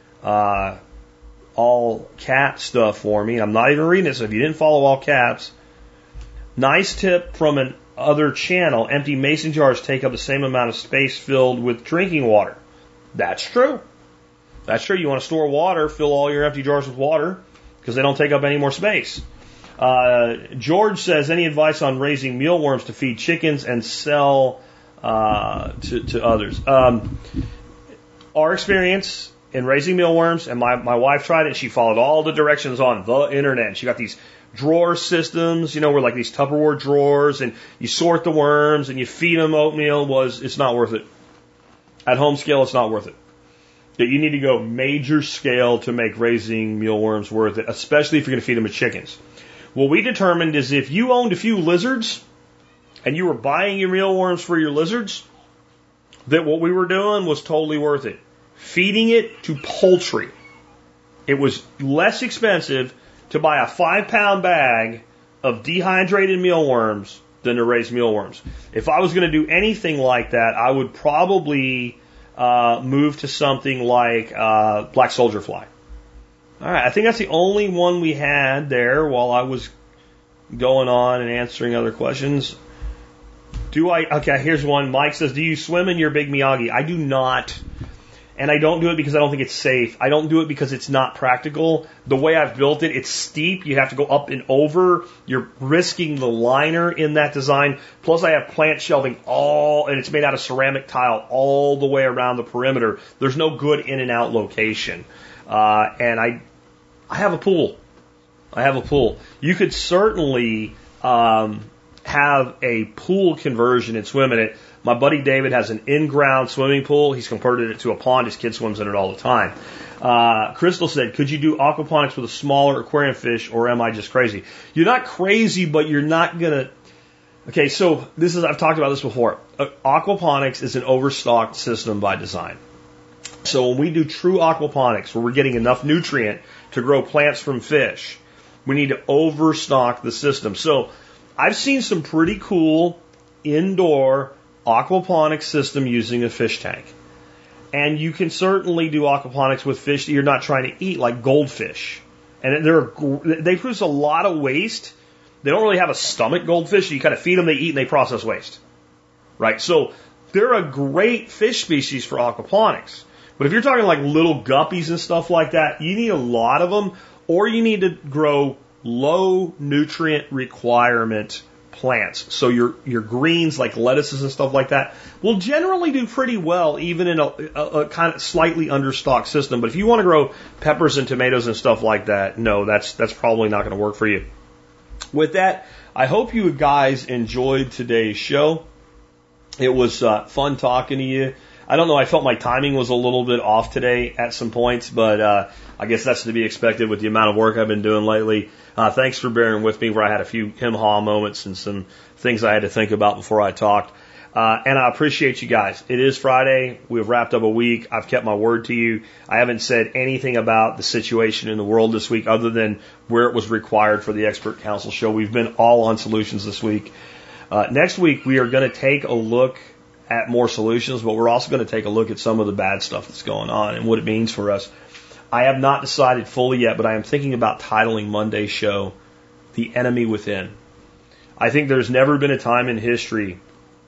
all cap stuff for me. I'm not even reading it, so if you didn't follow all caps. Nice tip from an other channel. Empty mason jars take up the same amount of space filled with drinking water. That's true. That's true. You want to store water, fill all your empty jars with water because they don't take up any more space. George says, any advice on raising mealworms to feed chickens and sell to others? Our experience in raising mealworms, and my wife tried it, she followed all the directions on the internet. And she got these drawer systems, where like these Tupperware drawers, and you sort the worms and you feed them oatmeal. It's not worth it. At home scale, it's not worth it. That you need to go major scale to make raising mealworms worth it, especially if you're going to feed them to chickens. What we determined is if you owned a few lizards and you were buying your mealworms for your lizards, that what we were doing was totally worth it. Feeding it to poultry. It was less expensive to buy a 5-pound bag of dehydrated mealworms than to raise mealworms. If I was going to do anything like that, I would probably move to something like black soldier fly. All right, I think that's the only one we had there while I was going on and answering other questions. Okay, here's one. Mike says, do you swim in your big Miyagi? I do not. And I don't do it because I don't think it's safe. I don't do it because it's not practical. The way I've built it, it's steep. You have to go up and over. You're risking the liner in that design. Plus I have plant shelving and it's made out of ceramic tile all the way around the perimeter. There's no good in and out location. And I have a pool. You could certainly, have a pool conversion and swim in it. My buddy David has an in-ground swimming pool. He's converted it to a pond. His kid swims in it all the time. Crystal said, could you do aquaponics with a smaller aquarium fish, or am I just crazy? You're not crazy, but you're not going to... Okay, so I've talked about this before. Aquaponics is an overstocked system by design. So when we do true aquaponics, where we're getting enough nutrient to grow plants from fish, we need to overstock the system. So I've seen some pretty cool indoor aquaponics system using a fish tank. And you can certainly do aquaponics with fish that you're not trying to eat, like goldfish. And they produce a lot of waste. They don't really have a stomach, goldfish. You kind of feed them, they eat, and they process waste. Right? So they're a great fish species for aquaponics. But if you're talking like little guppies and stuff like that, you need a lot of them, or you need to grow low nutrient requirement plants. So your greens like lettuces and stuff like that will generally do pretty well even in a kind of slightly understocked system. But if you want to grow peppers and tomatoes and stuff like that, no, that's probably not going to work for you. With that, I hope you guys enjoyed today's show. It was fun talking to you. I don't know, I felt my timing was a little bit off today at some points, but I guess that's to be expected with the amount of work I've been doing lately. Thanks for bearing with me where I had a few hem-haw moments and some things I had to think about before I talked. And I appreciate you guys. It is Friday. We've wrapped up a week. I've kept my word to you. I haven't said anything about the situation in the world this week other than where it was required for the Expert Council show. We've been all on solutions this week. Next week, we are going to take a look at more solutions, but we're also going to take a look at some of the bad stuff that's going on and what it means for us. I have not decided fully yet, but I am thinking about titling Monday's show, The Enemy Within. I think there's never a time in history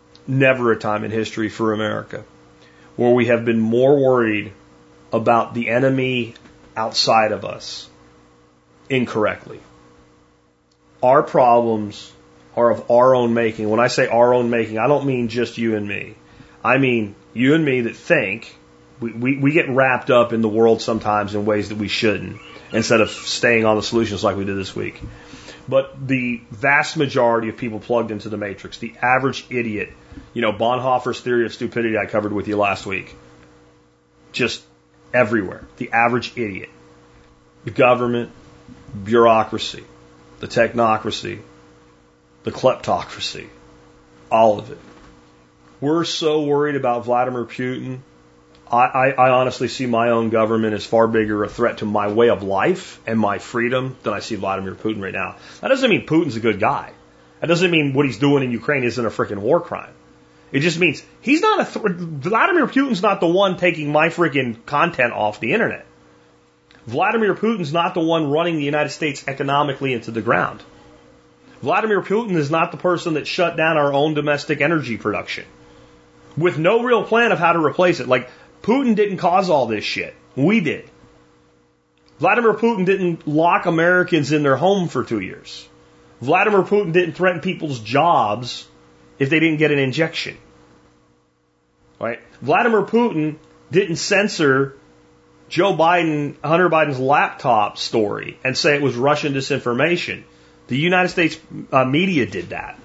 for America, where we have been more worried about the enemy outside of us incorrectly. Our problems are of our own making. When I say our own making, I don't mean just you and me. I mean you and me that think. We get wrapped up in the world sometimes in ways that we shouldn't, instead of staying on the solutions like we did this week. But the vast majority of people plugged into the matrix, the average idiot, Bonhoeffer's theory of stupidity I covered with you last week, just everywhere. The average idiot. The government, bureaucracy, the technocracy, the kleptocracy, all of it. We're so worried about Vladimir Putin. I honestly see my own government as far bigger a threat to my way of life and my freedom than I see Vladimir Putin right now. That doesn't mean Putin's a good guy. That doesn't mean what he's doing in Ukraine isn't a freaking war crime. It just means he's not Vladimir Putin's not the one taking my freaking content off the internet. Vladimir Putin's not the one running the United States economically into the ground. Vladimir Putin is not the person that shut down our own domestic energy production with no real plan of how to replace it. Like, Putin didn't cause all this shit. We did. Vladimir Putin didn't lock Americans in their home for 2 years. Vladimir Putin didn't threaten people's jobs if they didn't get an injection. Right? Vladimir Putin didn't censor Hunter Biden's laptop story and say it was Russian disinformation. The United States media did that.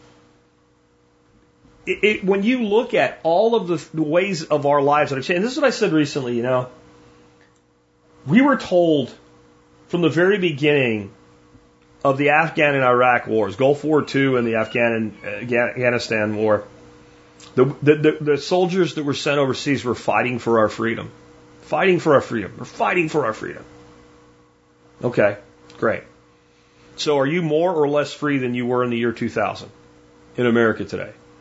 When you look at all of the ways of our lives that have changed, and this is what I said recently, we were told from the very beginning of the Afghan and Iraq wars, Gulf War II and the Afghanistan war, the soldiers that were sent overseas were fighting for our freedom. Fighting for our freedom. We're fighting for our freedom. Okay, great. So are you more or less free than you were in the year 2000 in America today?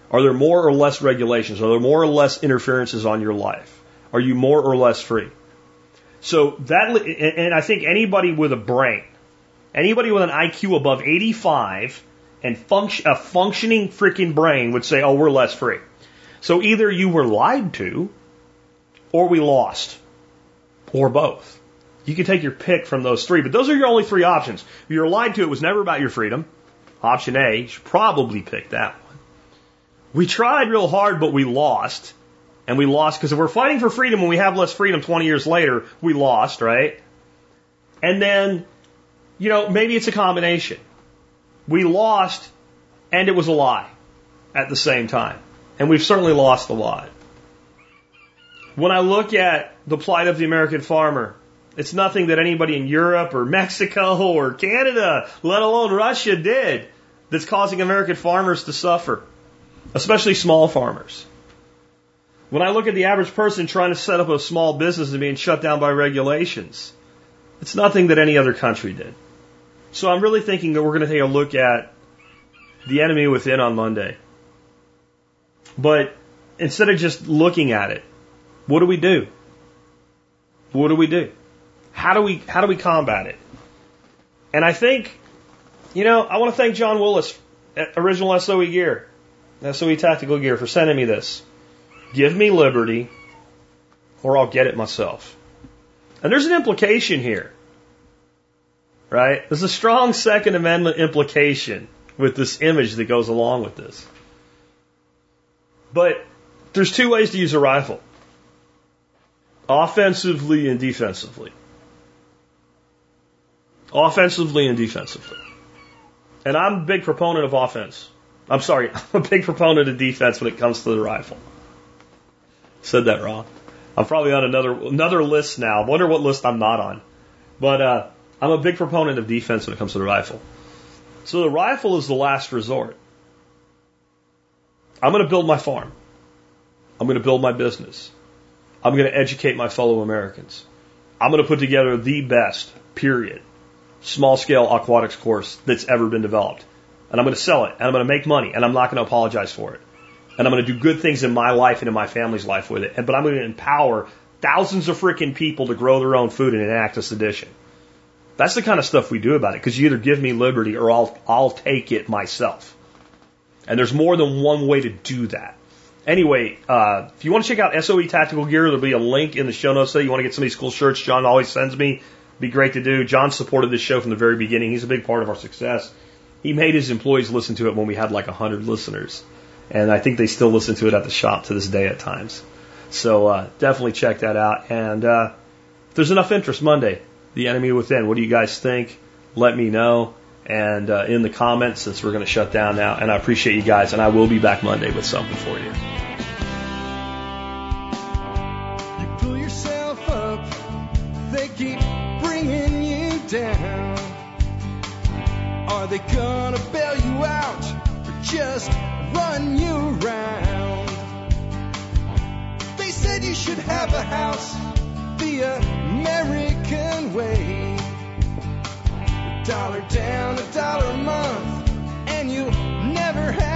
Are there more or less regulations? Are there more or less interferences on your life? Are you more or less free? So that, and I think anybody with a brain, anybody with an IQ above 85 and a functioning freaking brain would say, oh, we're less free. So either you were lied to, or we lost, or both. You can take your pick from those three, but those are your only three options. If you're lied to, it was never about your freedom. Option A, you should probably pick that one. We tried real hard, but we lost. And we lost because if we're fighting for freedom and we have less freedom 20 years later, we lost, right? And then, maybe it's a combination. We lost and it was a lie at the same time. And we've certainly lost a lot. When I look at the plight of the American farmer, it's nothing that anybody in Europe or Mexico or Canada, let alone Russia, did that's causing American farmers to suffer, especially small farmers. When I look at the average person trying to set up a small business and being shut down by regulations, it's nothing that any other country did. So I'm really thinking that we're going to take a look at the enemy within on Monday. But instead of just looking at it, what do we do? What do we do? How do we combat it? And I think, I want to thank John Willis at Original SOE Gear, SOE Tactical Gear, for sending me this. Give me liberty, or I'll get it myself. And there's an implication here, right? There's a strong Second Amendment implication with this image that goes along with this. But there's two ways to use a rifle: offensively and defensively. Offensively and defensively. And I'm a big proponent of offense. I'm a big proponent of defense when it comes to the rifle. Said that wrong. I'm probably on another list now. I wonder what list I'm not on. But I'm a big proponent of defense when it comes to the rifle. So the rifle is the last resort. I'm going to build my farm. I'm going to build my business. I'm going to educate my fellow Americans. I'm going to put together the best, period, small-scale aquatics course that's ever been developed. And I'm going to sell it. And I'm going to make money. And I'm not going to apologize for it. And I'm going to do good things in my life and in my family's life with it. But I'm going to empower thousands of freaking people to grow their own food and enact a sedition. That's the kind of stuff we do about it. Because you either give me liberty or I'll take it myself. And there's more than one way to do that. Anyway, if you want to check out SOE Tactical Gear, there'll be a link in the show notes there. You want to get some of these cool shirts John always sends me. Be great to do. John supported this show from the very beginning. He's a big part of our success. He made his employees listen to it when we had like 100 listeners. And I think they still listen to it at the shop to this day at times. So definitely check that out. And if there's enough interest, Monday, The Enemy Within. What do you guys think? Let me know. And in the comments, since we're going to shut down now. And I appreciate you guys. And I will be back Monday with something for you. You pull yourself up. They keep bringing you down. Are they going to bail you out or just run you around? They said you should have a house the American way. $1 down, $1 a month, and you'll never have